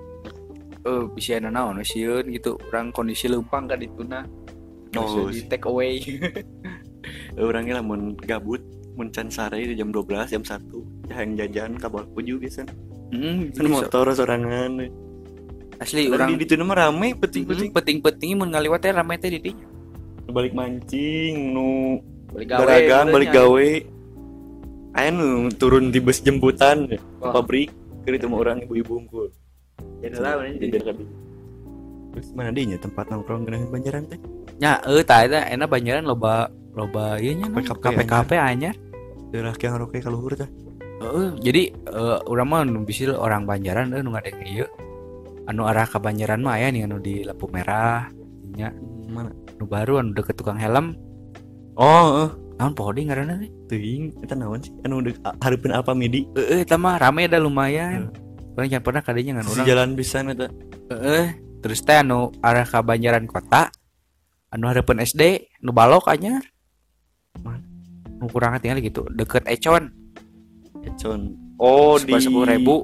B: Eh bisa enak naon sieun gitu. Urang kondisi leumpang ka dituna.
A: Oh,
B: Oh, di take away.
A: Orangnya lamun gabut, mun can sare di jam dua belas, jam satu, yang jajan ka bawah puju biasa.
B: Heeh,
A: Kan motor sorangan.
B: asli
A: Orang
B: urang
A: di ditu mah rame peting-peting.
B: peting-peting mun ngaliwat teh rame teh di dinya.
A: Balik mancing, nu
B: Balik
A: garagan, balik
B: benernya.
A: gawe. Aya nu turun di bus jemputan ke
B: Wah.
A: pabrik, keur itu mah urang ibu-ibu unggul.
B: Jadi lah benernya.
A: Jajan ka dieu. Terus mana dinya tempat nongkrong geunaheun Banjaran teh?
B: Nya eueuh tah eta enak Banjaran loba loba ieu nya
A: K P K P
B: K P K P anyar.
A: Daerah yang roke ka luhur teh.
B: Heeh, jadi eh, urang mah nu bisil orang Banjaran eueuh nu ngadeng ieu. Anu arah ka Banjaran mah aya nih anu di lampu merah nya
A: Mana?
B: nu baru anu deket tukang helm.
A: Oh, heeh.
B: Naon poho deui ngaranna teh?
A: Teuing eta naon sih? Anu deuk hareupeun Alpamidi.
B: Heeh, eta mah rame da lumayan. Urang jangan pernah kadinya ngan
A: Si
B: urang.
A: jalan pisan eta.
B: Heeh, terus teh anu arah ka Banjaran kota. Anu hareupeun S D, nu balok anyar.
A: Mana?
B: Nu kurang tinggal gitu, deket Econ.
A: Econ. Oh, di
B: sepuluh ribu.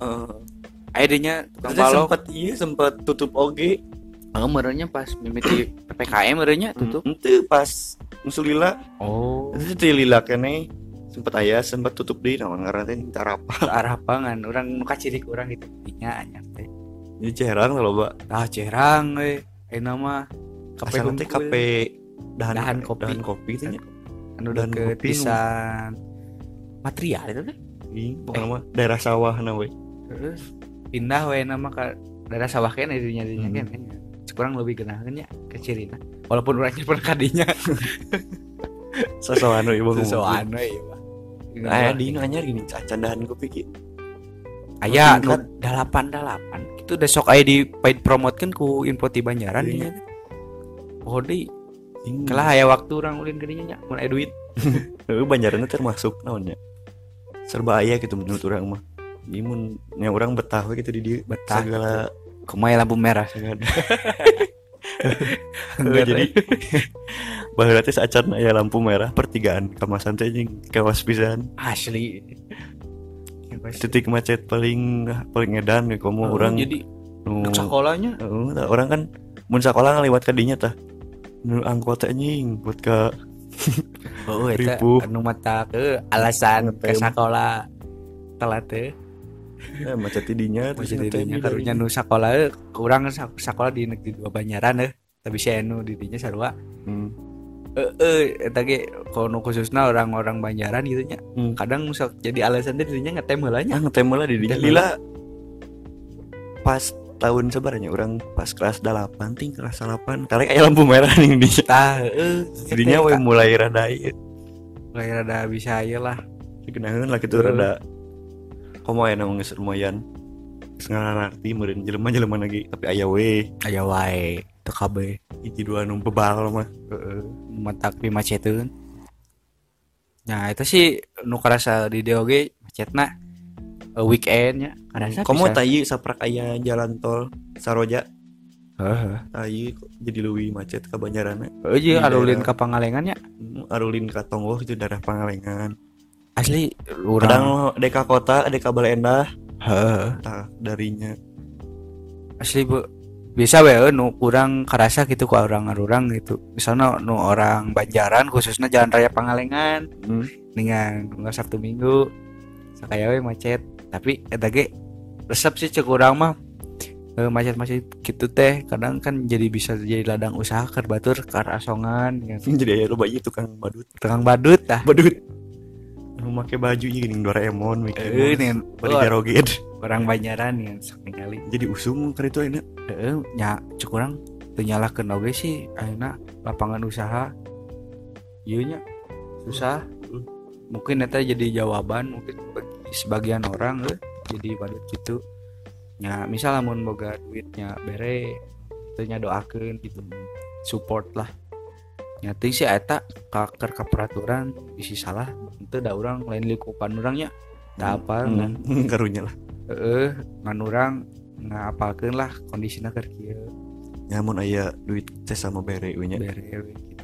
A: Eh,
B: aya dinya tukang
A: Terus
B: balok.
A: sempat iya sempat tutup oge.
B: Heeh, meureunnya pas mimiti P P K M meureunnya tutup.
A: Itu pas musuh lila.
B: Oh,
A: Itu teh lila kene sempat aya sempat tutup deui naon ngaranna teh Tarapa.
B: ke arah pangan urang nu kacirik urang gitu dinya anyar teh.
A: Jadi cerang loba.
B: Tah cerang we. Ayeuna mah kape
A: Asalna teh
B: hungkul.
A: kape dahan
B: Dahan kopi.
A: dahan kopi teh nya.
B: Anu
A: dahan
B: deket
A: kopi nu-
B: pisan material itu teh.
A: Ih, pokoknya mah daerah sawah na we.
B: Terus pindah we nama ka daerah sawah kene dinya dinya
A: Hmm.
B: kene. Kurang lebih genaheun nya ke cirina. Walaupun urangnya pernah kadinya.
A: Sosokan we ibu ngomong.
B: Sesuatu we ieu mah.
A: Aya di nu anyar gini cacan dahan kopi ki.
B: Aya nu
A: Tingkat.
B: delapan delapan itu udah sok aya di paid promotekeun ku Info Ti Banjaran
A: Iya.
B: dinya teh. Oh deui
A: Ing.
B: kelah aya waktu urang ulin ke dinya nya mun aya duit.
A: Heuh Banjaranna termasuk naonnya. Serba aya gitu menurut urang mah. Ieu mun nya urang betah we gitu di dieu.
B: Betah
A: Segala
B: Kumaha lampu merah.
A: segala. Heuh, jadi baheula teh saacan aya lampu merah pertigaan kamasan teh jeung kawas pisan.
B: Asli.
A: Titik macet paling paling edan we komo
B: Oh,
A: urang
B: jadi
A: nu
B: dek sekolahnya
A: Heeh, tah, orang kan mun sakola ngaliwat ka dinya tah. Nu angkot teh anjing buat ka
B: oh eta
A: ripuh.
B: anu mata ke alasan ke
A: Ngetem.
B: sekolah telat teh.
A: eh, macet di dinya terus
B: Masih
A: ngetem
B: didinya
A: di
B: karunya
A: dinya.
B: nu sakola eh, urang sak- sakola di negeri dua Banjaran eh tapi si anu di dinya sarua
A: Hmm.
B: eh eh eta ge kalau khususna orang-orang Banjaran gitu nya
A: Hmm.
B: kadang sok jadi alasan teh dirinya ngetem heula nya
A: Ah ngetem lah di dinya.
B: Ngetem
A: Lila pas tahun sebaranya orang pas kelas delapan ting kelas delapan kali aya lampu merah nih di dinya.
B: tah heeh
A: Dinya we mulai rada ieu.
B: mulai rada bisa aya lah
A: Dikenaheun lah gitu
B: Heeh.
A: rada komo aya nu geus lumayan. Geus ngararti meureun jelema-jelema lagi tapi aya we
B: aya wae teu kabeh
A: hiji dua nu bebal mah.
B: heeh matak pimaceteun. Nah, itu sih nu karasa di D O G macetna eh, weekendnya karasa
A: Komo
B: bisa.
A: tah ieu saprak aya jalan tol Saroja.
B: Heeh.
A: Tah ieu jadi leuwih macet ka Banjaranna.
B: Heeh
A: Di
B: jeung arulin
A: daerah-
B: ka Pangalengan nya.
A: Hmm, Arulin ka Tonggoh itu daerah Pangalengan.
B: Asli
A: Kadang
B: urang
A: deka kota, deka Baleendah,
B: heeh.
A: tah darinya.
B: Asli bu bisa we eh, nu kurang karasa gitu ku orang-orang gitu. Misalnya nu orang Banjaran khususnya Jalan Raya Pangalengan
A: Hmm.
B: dengan tanggal Sabtu Minggu sakaya we macet. Tapi eta ge resep sih cek urang mah eh, macet-macet gitu teh kadang kan jadi bisa jadi ladang usaha keur batur ka asongan ya.
A: Jadi aya loba ieu tukang badut.
B: Tukang badut tah.
A: Badut. Nu make baju ieu geuning Doraemon Mickey
B: Heeh
A: Mouse.
B: nih
A: Bari joget.
B: orang Banjaran yang sok ningali.
A: Jadi usum keur itu ayeuna.
B: Heeh nya cek urang teu nyalahkeun oge sih ayeuna lapangan usaha ieu nya susah. Mungkin eta jadi jawaban mungkin bagi sebagian orang eh, jadi badut gitu. Nya misal lamun boga duitnya bere teu nya doakeun gitu. Support lah. Nya teuing sih eta ka keur ka peraturan bisi salah teu da urang lain lingkupan urangnya. Da apa kan.
A: Hmm, karunya lah.
B: Heeh, ngan urang ngapalkeun lah kondisina keur kieu
A: Nyamun aya duit teh sama bere we nya.
B: bere we gitu.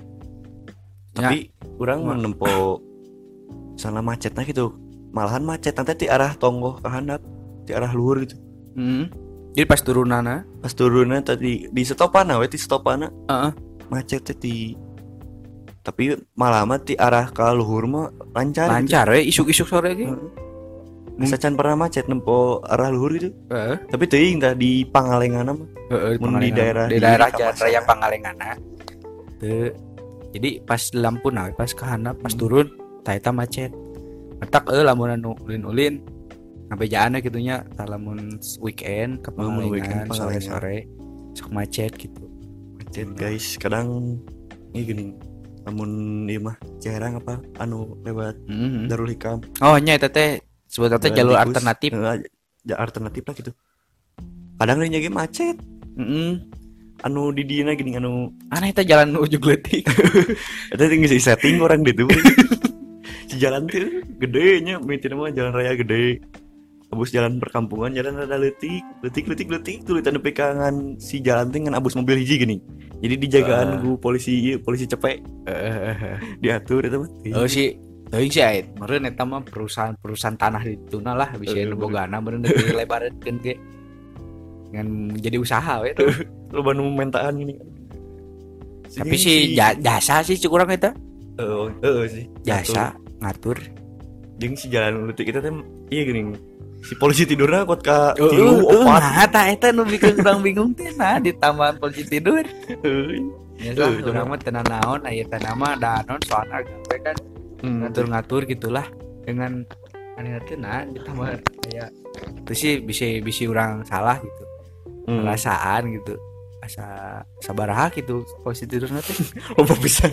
A: Tapi urang
B: Wah.
A: menempo sana macetna gitu. Malahan macet nanti di arah Tonggoh ke handap, di arah luhur gitu.
B: Heeh. Jadi pas turunana,
A: Pas turunnya tadi di stopana we di stopana
B: heeh,
A: macet teh di tapi malah mah di arah ke luhur mah lancar.
B: lancar we isuk-isuk sore ge.
A: Gitu. Sacan pernah macet nempo arah luhur gitu.
B: Heeh,
A: Tapi teuing tah di Pangalengan mah.
B: heeh
A: Mun di daerah
B: di
A: di
B: daerah
A: Kawasan.
B: Jalan Raya Pangalengana. Teu. Jadi pas lampu nah pas ke handap pas
A: Hmm.
B: turun tah eta macet. Matak eueuh lamun anu ulin-ulin ngabejaanna kitu nya tah lamun weekend ke
A: Oh, mun weekend
B: Pangalengan
A: Pangalengan.
B: sore-sore sok macet gitu.
A: Macet guys, kadang ini gini. Namun ieu mah jarang apa anu lewat
B: Heeh.
A: Darul Hikam.
B: Oh nya eta teh sebetulnya teh
A: Jalan
B: jalur
A: tikus.
B: alternatif.
A: Heeh, ja- alternatif lah gitu. Kadang nya ge macet.
B: Heeh.
A: Anu di dieu gini anu
B: Aneh eta jalan ujung leutik.
A: eta tinggal si setting orang gitu. Si jalan tuh gede nya, mitina mah jalan raya gede. Abus jalan perkampungan jalan rada leutik, leutik leutik leutik tulisan nepi ka ngan si jalan teh ngan abus mobil hiji gini. Jadi dijagaan
B: Ah.
A: ku polisi ieu, polisi cepek
B: Heeh.
A: diatur eta mah.
B: Oh si Teuing sih ait, meureun eta mah perusahaan-perusahaan tanah di tuna lah bisa
A: Heeh,
B: anu bogana meureun dilebarkeun ge. Ngan jadi usaha we tuh.
A: Lu banu mentaan gini.
B: Tapi sih ja- jasa sih cuk urang eta.
A: Heeh, heeh sih.
B: Jasa ngatur.
A: Jeung si jalan leutik kita teh iya geuning. Si polisi tidurna kot ka
B: Heeh,
A: tilu
B: heeh,
A: opat.
B: nah eta eta nu bikin urang bingung teh nah di taman polisi tidur.
A: Heeh.
B: Ya
A: Tuh,
B: lah, urang mah teu naon aya teh nama da naon soalna gawe kan
A: Hmm.
B: ngatur-ngatur gitulah dengan aneh teh nah di taman kayak itu sih bisa bisa urang salah gitu.
A: Hmm.
B: Perasaan gitu. Asa sabaraha gitu polisi tidurna teh.
A: Loba pisan.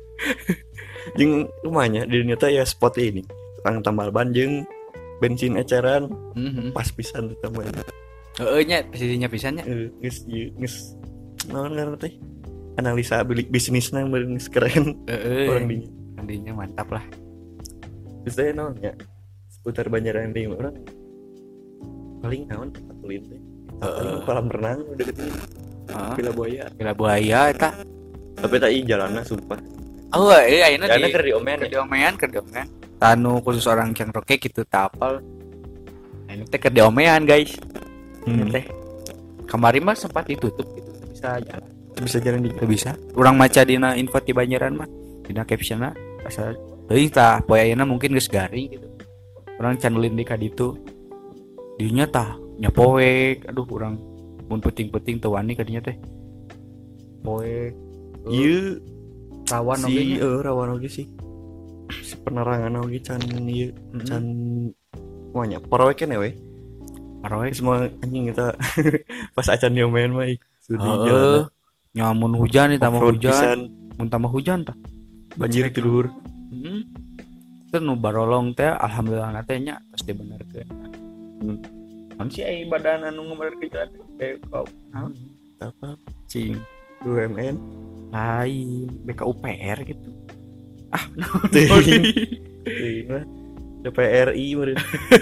A: Jeung rumahnya di dinya teh ya spot ini. Tukang tambal ban jeung bensin eceran
B: Mhm.
A: pas pisan eta mah.
B: Heeh nya posisinya pisannya.
A: Eh, geus ieu geus naon ngaranna teh? Analisa bilik bisnisna meureun geus keren
B: Heeh.
A: orang dinya.
B: Nantinya mantap lah.
A: Terus teh naon ya? Seputar Banjaran deui mah urang paling naon tempat ulin teh. Paling kolam renang udah deket ini.
B: Heeh.
A: Villa Buaya.
B: Gila buaya eta.
A: Tapi tak ieu jalanna sumpah.
B: Oh, iya ayeuna
A: Jalanna
B: di
A: keur diomean
B: keur
A: ya.
B: diomean keur diomean. Tanu khusus orang yang roke gitu tapal. Nah, ini teh keur diomean guys. Ini
A: Hmm.
B: teh. Kemarin mah sempat ditutup gitu, teu bisa jalan.
A: Bisa jalan di
B: Teu bisa. Urang maca dina info di Banjaran mah, dina captionna asa teuing tah poe ayeuna mungkin geus garing gitu. Urang can ulin di ka ditu. Dinya tah nya poek, aduh urang mun penting-penting teu wani ka dinya teh. Poek.
A: ieu
B: Rawan oge
A: si
B: nya.
A: eh rawan oge sih. Si penerangan oge can ieu can moanya parowekeun we.
B: Paroek.
A: Semua anjing kita pas acan diomean mah ih, sudi
B: Heeh.
A: jalanna.
B: Nyamun hujan nih tambah
A: Off-road
B: hujan.
A: pisan,
B: Mun tambah hujan tah.
A: banjir ti luhur.
B: Heeh. Teu nu barolong teh alhamdulillah na teh nya tos dibenerkeun.
A: Hmm.
B: Mun si ai badan anu ngabenerkeun jalan teh kau naon?
A: Apa? Cing U M N.
B: Lain B K U P R gitu. Ah, naon?
A: Teuing. Teuing mah D P R I meureun.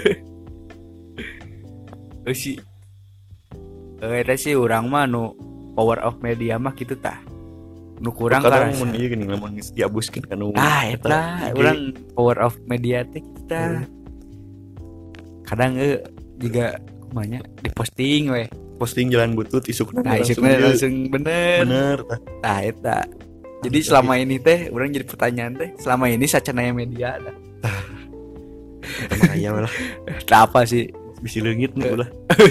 B: Eh si eh eta sih urang mah nu power of media mah kitu tah. Nu kurang
A: Kadang
B: karasa.
A: mun ieu geuning lamun geus diabuskeun ka nu
B: Ah, eta urang power of media teh kita. Kadang eh juga kumanya diposting we.
A: posting jalan butut isukna
B: Nah,
A: langsung
B: isukna
A: ieu.
B: langsung bener.
A: bener tah.
B: Nah, eta. Jadi selama ini teh urang jadi pertanyaan teh, selama ini sacanaya media dah.
A: Eta mah aya lah
B: Tah apa sih?
A: bisi leungit nu ulah.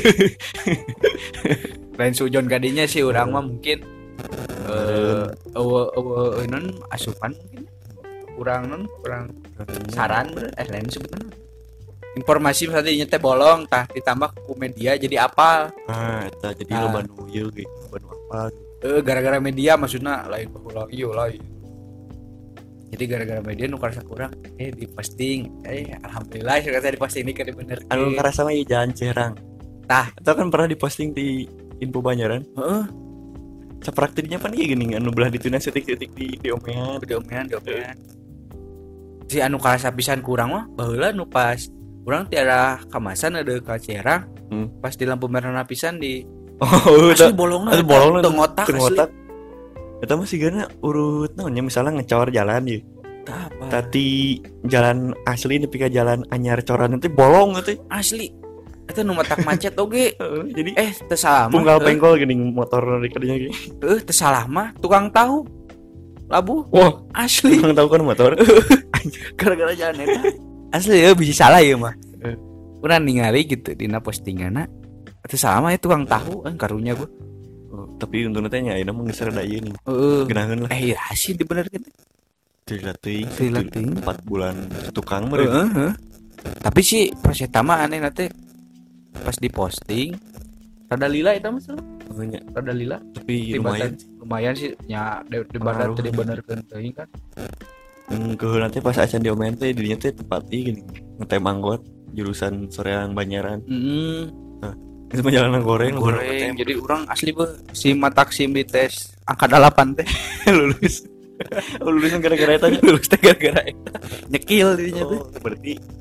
B: Lain sujon kadinya sih urang mah mungkin eh eueuh eueuh non asupan mungkin. Kurang non kurang saran bener eh lain sebetulnya. Informasi misalnya teh bolong tah ditambah ku media jadi apa?
A: Ah, eta jadi
B: Ah.
A: loba nu ieu ge, loba nu apa.
B: Eh gara-gara media maksudnya lain baheula ieu lain. Jadi gara-gara media nu karasa kurang eh diposting eh alhamdulillah saya diposting ini kan bener.
A: Anu karasa mah ieu jalan Cerang.
B: Tah.
A: Eta kan pernah diposting di Info Banjaran.
B: Heeh,
A: Sapraktiknya pan ieu geuning anu belah dituna setik-setik di diomean.
B: diomean diomean. Si anu karasa pisan kurang mah baheula nu pas urang tiara kamasan ada ka Cerang.
A: Hmm.
B: Pas di lampu merah pisan di
A: Oh,
B: asli bolongna
A: Asli bolongna
B: teu ngotak
A: teu
B: asli.
A: ngotak. Eta mah sigana urut naonnya misalnya ngecor jalan ieu.
B: Tah apa?
A: Tati jalan asli nepi ka jalan anyar coran teh bolong teh.
B: Asli. Eta nu matak macet oge.
A: Heeh, jadi
B: Eh teu salah mah.
A: punggal
B: Eh,
A: pengkol geuning motor di kadinya ge.
B: Eh teu salah mah tukang tahu. Labu
A: Wah,
B: asli
A: Emang tahu kan motor?
B: gara-gara jalan eta. Asli ya bisa salah ya mah.
A: Eh.
B: Urang ningali gitu dina postinganna. Teu salah mah itu tukang tahu kan karunya gua.
A: Oh, tapi untungnya teh nya ayeuna mah geus rada ieu nih.
B: Heeh.
A: Geunaheun lah.
B: Eh iya sih dibenerkeun.
A: Teuing teuing.
B: Teuing teuing.
A: empat bulan tukang meureun.
B: Heeh, heeh. Tapi sih pas eta mah aneh teh pas diposting rada lila eta mah salah.
A: Oh, nya.
B: Rada lila.
A: Tapi
B: Di
A: lumayan.
B: badan- lumayan sih nya di, di badan
A: Pengaruh.
B: teh dibenerkeun teuing kan.
A: Hmm, keheula teh pas acan diomean teh dirinya teh tempat ieu geuning. Ngetem anggot jurusan Soreang Banjaran.
B: Heeh.
A: Itu mah jalanan goreng,
B: Goreng. Jadi orang asli beuh si matak sim di tes angka delapan teh
A: lulus. Oh, lulusan gara-gara eta nya.
B: lulus teh gara-gara eta. Nyekil dirinya teh.
A: Oh, berarti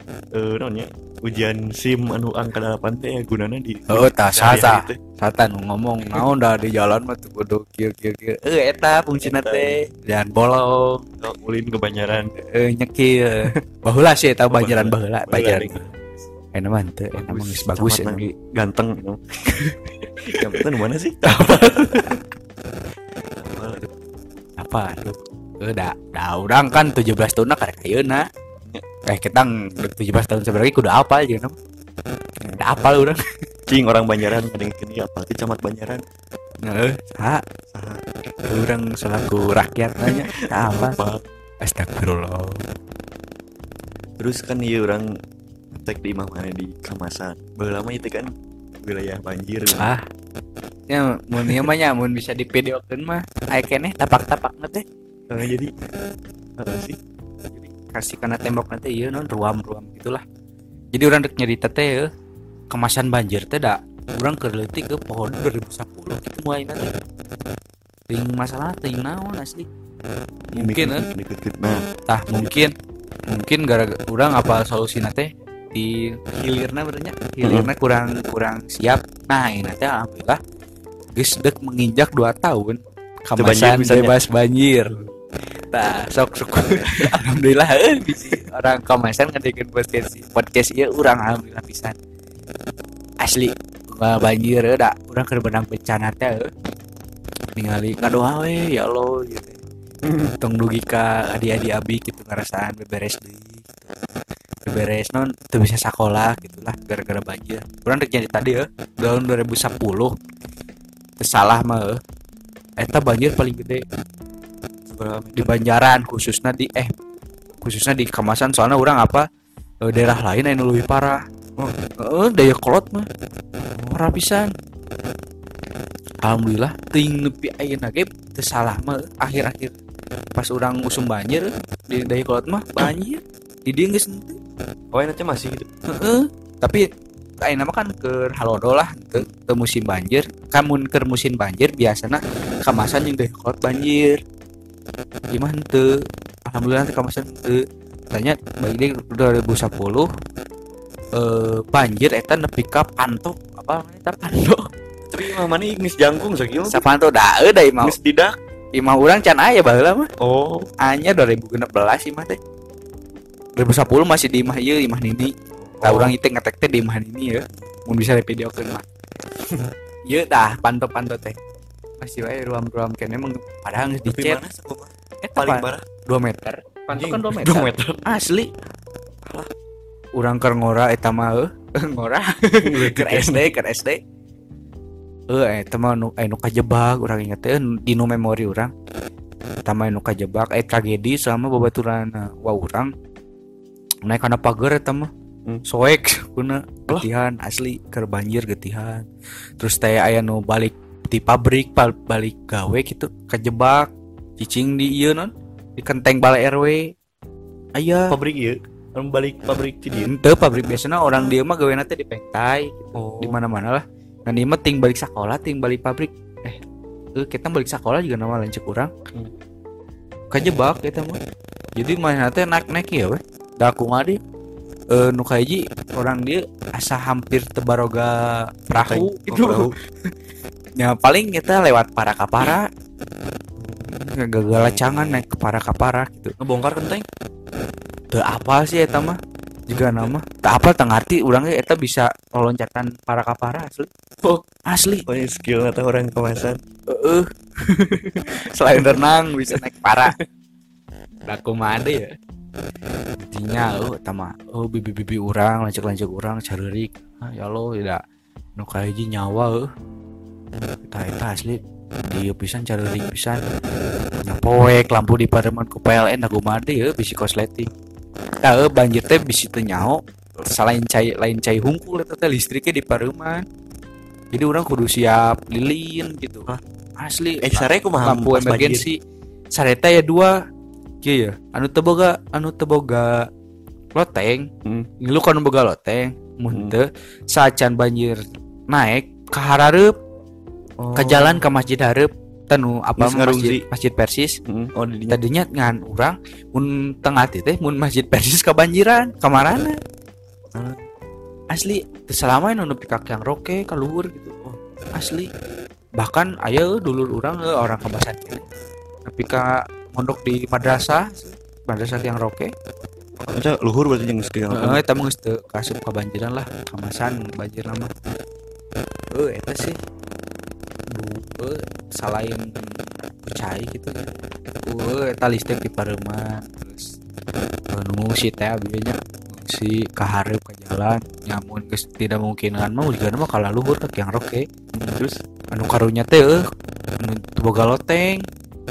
A: eh naon nya ujian SIM anu angka delapan teh gunana di
B: Oh tah
A: sehari-hari
B: sasa
A: teh.
B: sata nu ngomong naon dah di jalan mah tuh kudu kieu kieu kieu eh eta fungsina teh dan bolong
A: Oh, ulin ke Banjaran.
B: eh nyekil baheula sih eta banjaran baheula banjaran
A: Baheula.
B: enak mah teu enak mah geus bagus
A: Camat
B: ya.
A: ganteng you know. Jambatan di mana sih?
B: Apa tuh eh da da urang kan tujuh belas tahun karek ayeuna eh kita tujuh belas tahun sebenarnya kudu apa aja kan da apal urang
A: Cing orang Banjaran kadang kini apa sih camat Banjaran?
B: heeh saha
A: Saha?
B: urang selaku rakyat nanya da apa
A: Apa?
B: astagfirullah
A: Terus kan iya orang tek di imah mana di Kamasan. Baheula mah itu kan wilayah banjir.
B: ah ya mun ieu mah nya mun bisa divideokeun mah aya keneh tapak-tapakna teh
A: Eh, jadi apa sih?
B: kasih kana tembok nanti ieu non ruam-ruam gitulah jadi urang dek nyarita teh eh, kemasan banjir teh da urang keur leutik ke pohon dua ribu sepuluh kitu mulai nanti ting masalah ting naon asli mungkin eh
A: deket-deket. Nah,
B: tah mungkin mungkin gara-gara urang apa solusina teh di hilirna berenya hilirna kurang kurang siap nah ini teh alhamdulillah geus dek menginjak dua tahun
A: Teu banjir
B: kamasan
A: pisannya.
B: bebas banjir tah sok syukur alhamdulillah eh bisi orang kamasan ngadekeun podcast podcast ieu urang alhamdulillah pisan asli nggak banjir eh da urang keur benang bencana teh eh. ningali ngadoa we ya Allah gitu tong dugi ka adi-adi abi gitu ngarasaan beberes deui gitu. Beberes non teu bisa sakolah gitulah gara-gara banjir urang dek jadi tadi eh tahun dua ribu sepuluh teu salah mah eh eta banjir paling gede
A: seberapa
B: di Banjaran khususnya di eh khususnya di Kamasan soalnya orang apa eh, daerah lain anu leuwih parah oh eh, daya kolot mah parah pisan alhamdulillah ting nepi ayeuna ge teu salah mah akhir-akhir pas urang usum banjir di daya kolot mah banjir di dieu geus henteu
A: Oh, enaknya masih gitu.
B: heeh tapi ayeuna mah kan keur halodo lah teu teu musim banjir kamun keur musim banjir biasana Kamasan yang daya kolot banjir gimana tuh alhamdulillah Kamasan tuh tanya bagi dua ribu sepuluh eh banjir eta nepi ka panto apa namanya eta panto
A: Tapi imah mana geus jangkung sakieu.
B: sapanto da euy da imah
A: Geus didak.
B: imah urang can aya baheula mah
A: Oh,
B: anya dua ribu enam belas imah teh dua ribu sepuluh masih di imah ieu imah Nini tah
A: Oh.
B: urang itu ngetek teh di imah Nini ya mun bisa videokeun mah ieu dah panto-panto teh masih wae ruam-ruam kene emang padahal geus
A: tapi
B: dicet
A: mana sakumaha?
B: eta
A: Paling
B: pa-
A: parah
B: dua meter panto kan dua meter
A: dua meter.
B: asli urang keur ngora eta mah eh ngora keur S D keur S D eh eta mah nu anu kajebak urang inget teh di nu memori urang eta mah anu kajebak eh tragedi sama babaturan wa urang naik kana pagar eta mah
A: Hmm.
B: soek kuna getihan asli keur banjir getihan terus teh aya nu balik di pabrik bal- balik gawe gitu kajebak cicing di ieu non di kenteng balai R W aya
A: Pabrik ieu. Anu balik pabrik ti dieu.
B: ente pabrik biasanya orang dia mah gaweana teh di pengtai
A: Oh.
B: di mana-mana lah dan dia mah ting balik sekolah ting balik pabrik eh eh kita balik sekolah juga nama lanjut kurang
A: Hmm.
B: kajebak kita mah jadi mana teh naik-naik ya weh da aku ngadi eh nu kaji orang dia asa hampir tebaroga perahu
A: Oh,
B: gitu
A: perahu.
B: ya paling kita lewat para kapara gagal cangan naik ke para kapara gitu
A: Ngebongkar kenteng.
B: teu apa sih eta mah juga nama tak apa teu ngarti urang ge eta bisa loncatan para kapara asli
A: Oh.
B: asli
A: Oh, ya skill atau orang Kamasan.
B: heeh selain renang bisa naik para da kumaha deui ya intinya oh eta mah oh bibi-bibi urang lanjut-lanjut urang careurik ah ya Allah tidak nu kahiji nyawa heuh eta eta asli dieu pisan careurik pisan nyapoek lampu di pareman ku P L N da kumaha deui heuh bisi kosleting tah heuh banjir teh bisi teu nyaho selain cai lain cai hungkul eta teh listriknya di pareuman jadi orang kudu siap lilin gitu asli
A: Eh, sare kumaha
B: lampu
A: pas banjir?
B: emergensi sareta ya dua kieu ya anu teu boga anu teu boga loteng
A: Hmm.
B: ngilu kan boga loteng mun
A: Hmm.
B: teu sacan banjir naik ka harareup
A: Oh.
B: ka jalan ka masjid hareup tanu apa
A: Geus ngarungsi.
B: masjid masjid Persis
A: Hmm. Oh, di dinya.
B: tadinya ngan urang mun tengah teh mun masjid Persis kebanjiran kamarana asli teu selama nu nepi ka yang roke ka luhur gitu. Oh, asli bahkan aya dulur urang orang Kabasan kene nepi ka mondok di madrasah madrasah yang roke.
A: Eta luhur berarti jeung sekian
B: Heeh, eta mah geus teu kasup kabanjiran lah, Kamasan banjir nama. Heuh, eta sih. Bu, selain cai gitu. Heuh, eta listrik di pareuma. Terus nu si teh abdinya si kahareup ka jalan, nyamun geus tidak mungkinan mah ujigana mah kala luhur teh yang roke. Terus anu karunya teh eueuh, anu teu boga loteng.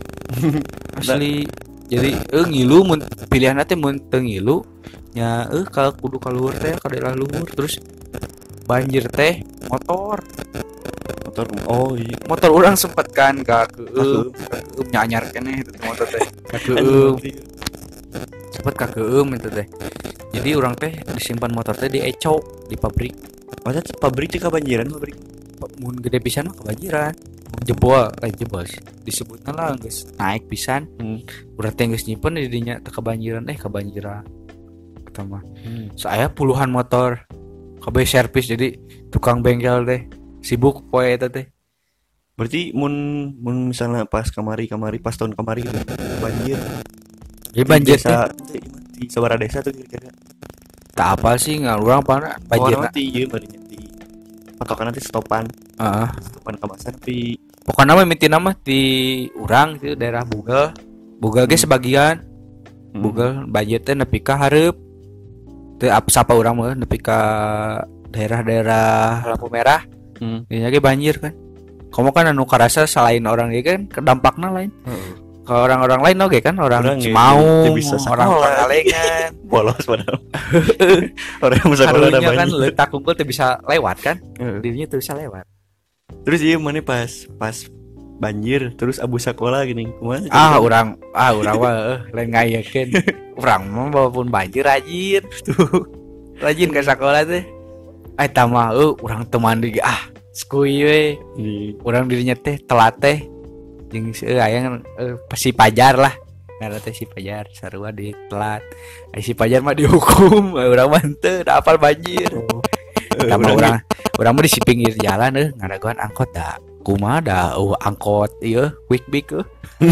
B: Asli jadi eh ngilu mun pilihan teh mun teu ngilu nya eh ka kudu ka luhur teh ka daerah luhur terus banjir teh motor
A: motor. Oh iya,
B: motor orang sempet kan ka keueum keueum nya anyar keneh itu motor teh ka keueum sempet ka keueum itu teh jadi orang teh disimpan motor teh di Eco di pabrik.
A: Masa pabrik teh kebanjiran pabrik
B: Mun gede pisan mah kebanjiran jebol eh jebol sih disebutna lah geus naik pisan.
A: hmm.
B: Urang teh geus nyimpen di dinya teh kebanjiran eh kebanjiran eta mah.
A: hmm.
B: Saya puluhan motor kabeh servis jadi tukang bengkel teh sibuk poe eta teh.
A: Berarti mun mun misalnya pas kamari kamari pas tahun kamari gitu banjir.
B: Jadi banjir teh
A: di sabaraha desa tuh kira-kira.
B: tak apa sih nggak urang apa banjir.
A: Oh, nanti ieu bari di patokan nanti stopan.
B: Heeh.
A: Stopan Kamasan tapi
B: Pokoknya mah mimiti nama di urang itu daerah Bugel. Bugel ge sebagian.
A: hmm.
B: Bugel banjir teh nepi ka hareup. Teu apa sapa urang mah nepi ka daerah-daerah lampu merah.
A: hmm.
B: Dinya ge banjir kan. Kamu kan anu karasa selain orang ge kan kedampakna lain.
A: Heeh.
B: Ke orang-orang lain oge kan orang
A: Orang ge
B: mau
A: teu bisa
B: orang
A: sakola.
B: Pangalengan.
A: bolos padahal. Orang yang sekolah ada
B: Karunya kan
A: banjir.
B: letak unggul teu bisa lewat kan.
A: Heeh.
B: Dirinya teu bisa lewat.
A: Terus iya mana pas pas banjir terus abu sekolah gini kumaha
B: Ah orang ah orang mah eh, lain ngayakeun. Urang mah walaupun banjir rajin tuh. Rajin ke sekolah teh. Ah eta mah eh urang teu mandi ah skuy we.
A: di
B: Urang dirinya teh telat teh. Jeung eh aya eh, si Pajar lah. Ngaran teh si Pajar sarua di telat. Ai si Pajar mah dihukum, urang mah teu da apal banjir. Eta mah urang urang mah di si pinggir jalan euy ngadaguan angkot da. Kumaha da uh, angkot ieu quick big euy.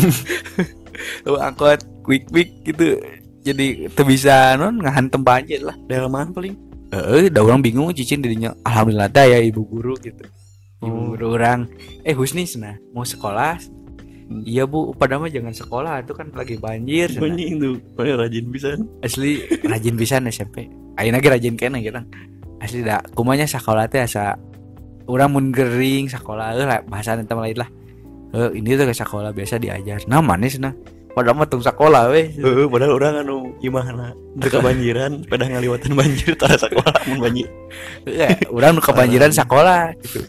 B: Uh, angkot quick big gitu. Jadi teu bisa non ngahantem banjir lah.
A: delman paling.
B: Heeh, da urang bingung cicing dirinya. Alhamdulillah teh aya ibu guru gitu. Ibu
A: Oh.
B: guru urang, eh Husni cenah mau sekolah.
A: Hmm.
B: Iya Bu, pada mah jangan sekolah itu kan lagi banjir. cenah.
A: Banyak itu, paling rajin bisa.
B: Asli rajin pisan S M P. Ayeuna ge rajin keneh gitu. Asli da kumanya sekolah teh asa urang mun gering sekolah euy lah bahasa eta lain lah. Heuh ini tuh ke sekolah biasa diajar. Nah manis nah. Padahal mah tong sekolah we.
A: Heeh, padahal orang anu imahna teu kebanjiran, pada ngaliwatan banjir tara sekolah mun banjir.
B: Heeh, urang nu kebanjiran sekolah gitu.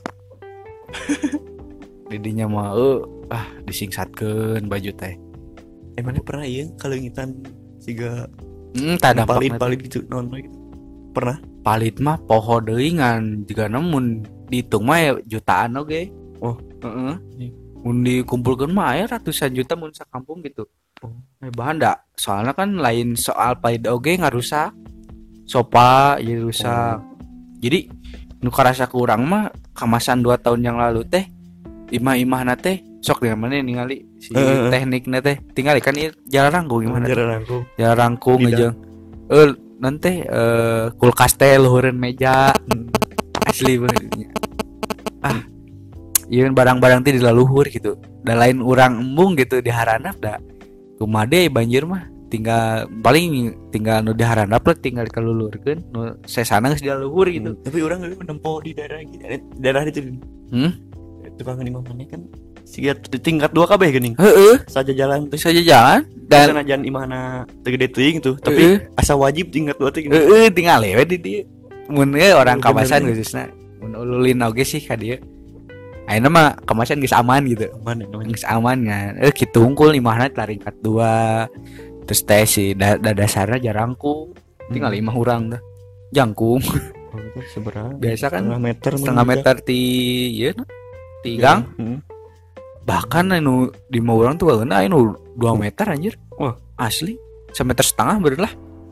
B: Didinya mah euy ah disingsatkeun baju teh.
A: Eh mana pernah ieu kalengitan siga
B: Hmm, tah dampak
A: palit-palit gitu non gitu. Pernah?
B: palit mah poho deui ngan juga namun dihitung mah ya jutaan oge.
A: Oh.
B: Heeh. Mun dikumpulkeun mah aya ratusan juta mun sakampung gitu.
A: Oh.
B: Eh bahan da, soalnya kan lain soal palit oge ngarusak. Sopa jadi rusak. Jadi nu karasa ke urang mah kamasan dua tahun yang lalu teh imah-imahna teh sok dengan mana ningali si
A: Heeh.
B: tekniknya teh tinggal kan ieu jalan rangkung gimana teh?
A: Jalan rangkung.
B: Jalan rangkung
A: Tidak.
B: aja. Eh nanti eh kulkas teh luhureun meja. Asli banget. Ah. Ieu barang-barang teh dilaluhur gitu. Da lain urang embung gitu di haranap da. Kumaha deui banjir mah tinggal paling tinggal nu di haranap lah tinggal kalulurkeun nu sesana geus dilaluhur gitu.
A: Hmm. Tapi orang gak menempuh di daerah gitu, eh, daerah itu.
B: Hmm?
A: Tukang di mana kan siga di tingkat dua kabeh geuning.
B: Heeh,
A: Saja jalan teh.
B: bisa aja jalan
A: Dan
B: dan
A: sanajan imahna teu gede teuing tuh, tapi
B: Heeh.
A: asa wajib tingkat dua teh gini.
B: heeh tinggal we di dieu. Mun ge orang
A: Oh,
B: kawasan
A: bener.
B: khususna mun ululin oge sih ka dieu. Ayeuna mah kamasan geus aman gitu.
A: Aman ya namanya.
B: Geus aman kan. Eh kitu unggul imahna tingkat dua. Terus teh si da, da dasarna jarangkung. Tinggal
A: Hmm.
B: imah urang dah. Jangkung.
A: Oh, itu seberapa?
B: Biasa kan
A: Setengah meter.
B: setengah
A: mah
B: meter ti ieu na. Ti
A: bisa.
B: gang.
A: Hmm.
B: Bahkan anu di mau urang tuh kageuna anu dua meter anjir.
A: Wah.
B: Asli. Semeter setengah bener lah.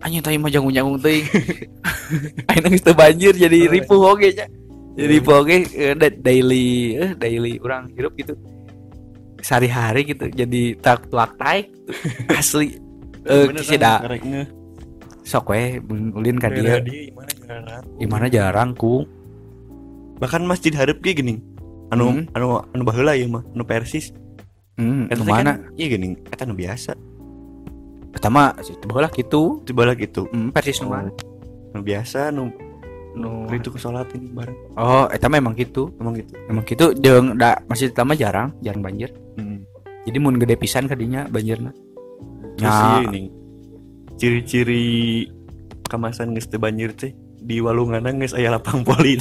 B: anjing tadi mah jangung-jangung teuing. Ayeuna geus teu banjir jadi ripuh oge nya. Jadi ripuh oge eh, da- daily eh daily urang hirup gitu. Sehari-hari gitu jadi tak tuak taek gitu. Asli. Eh kisi da
A: karek ngeh.
B: sok we ulin ka
A: Daerah
B: dieu.
A: dia gimana jarang.
B: Gimana jarang ku.
A: Bahkan masjid hareup ge geuning. Anu
B: Hmm.
A: anu anu baheula ieu mah, anu Persis.
B: Hmm,
A: Eta
B: anu
A: teh
B: mana?
A: kan, iya geuning, eta anu biasa.
B: Pertama situ baheula kitu.
A: Itu bala gitu.
B: Hmm, persis nu mana?
A: Anu biasa anu
B: Nu
A: itu ke salat ini bareng.
B: Oh, eta memang gitu.
A: Emang gitu.
B: Emang gitu jeung da masjid pertama jarang, jarang banjir.
A: Hmm.
B: Jadi mun gede pisan ka dinya banjirna.
A: Terus
B: Ya.
A: ieu ini. Ciri-ciri kamasan geus teu banjir teh di walunganna geus aya lapang poli.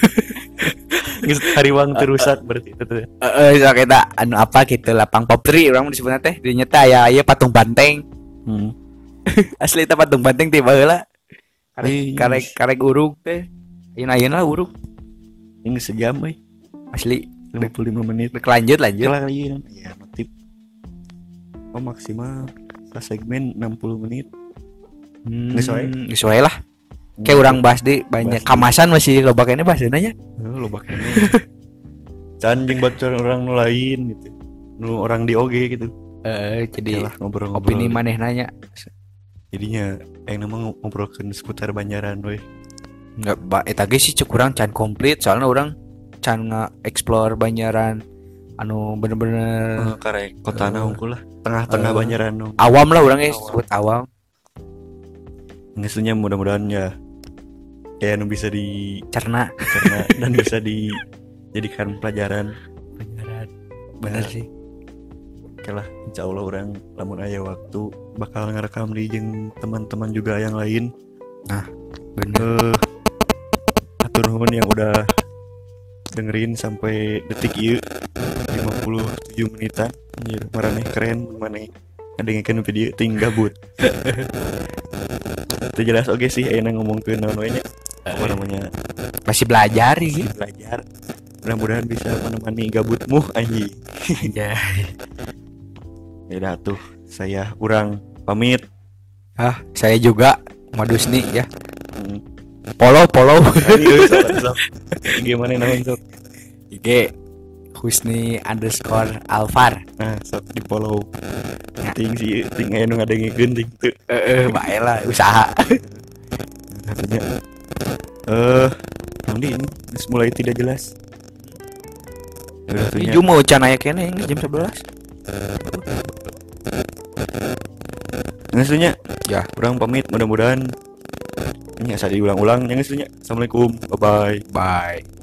A: Geus hariwang teu rusak berarti itu teh.
B: Heeh, sok eta anu apa gitu lapang popri urang disebutna teh dinya teh aya aya patung banteng.
A: Hmm.
B: Asli eta patung banteng ti baheula. Karek
A: Ih.
B: karek karek urug teh. Ayeuna-ayeuna lah urug.
A: Ini sejam euy,
B: Asli
A: lima puluh lima menit.
B: Rek lanjut lanjut.
A: Kelar ieu. Ya, notif. Oh, maksimal pas segmen enam puluh menit.
B: Hmm,
A: Geus wae.
B: geus wae lah. Kayak urang bahas di banyak
A: Bahas di-
B: kamasan masih loba kene bahasana nya.
A: Oh, lo bakal can jeung bacor orang nu lain gitu. Nu orang di O G gitu.
B: Eh jadi
A: Yalah ngobrol-ngobrol.
B: opini maneh nanya.
A: Jadinya yang nama ngobrolkeun seputar Banjaran we.
B: Enggak ba eta ge sih cek urang can komplit soalnya urang can nga-explore Banjaran anu bener-bener
A: Oh, karek kotana unggul lah. Tengah-tengah
B: Eh.
A: Banjaran nu.
B: awam lah urang ge
A: Awam.
B: disebut awam.
A: Ngesunya mudah-mudahan ya kayak nu bisa dicerna
B: Cerna
A: dan bisa dijadikan pelajaran.
B: Banjaran. Bener
A: Nah.
B: sih.
A: Oke lah, insya Allah orang lamun aya waktu bakal ngerekam di jeung teman-teman juga yang lain.
B: Bener.
A: Eh, atur nuhun yang udah dengerin sampai detik ieu lima puluh tujuh menitan. Anjir, marane keren maneh ngadengkeun video ting gabut. Itu jelas oke sih ayeuna ngomongkeun naon we nya. Apa namanya?
B: Masih belajar sih.
A: Belajar. Mudah-mudahan bisa menemani gabutmu anjing.
B: Ya.
A: Ya tuh, saya urang pamit.
B: Ah, saya juga Madusni ya.
A: Hmm.
B: Follow follow
A: Ayo, sok, sok. Gimana naon sok?
B: I G Husni underscore Alvar.
A: Nah, sok di follow. Ting sih, ting aya nu ngadengkeun ting teu.
B: Eh, bae lah usaha.
A: Katanya. Eh, nanti ini geus mulai tidak jelas. Udah tuh
B: Ini
A: nya.
B: cuma can aya kene ini jam sebelas.
A: Ngasunya.
B: Ya.
A: Urang pamit mudah-mudahan ini asa diulang-ulang. Yang ngasunya. Assalamualaikum. Bye bye.
B: Bye.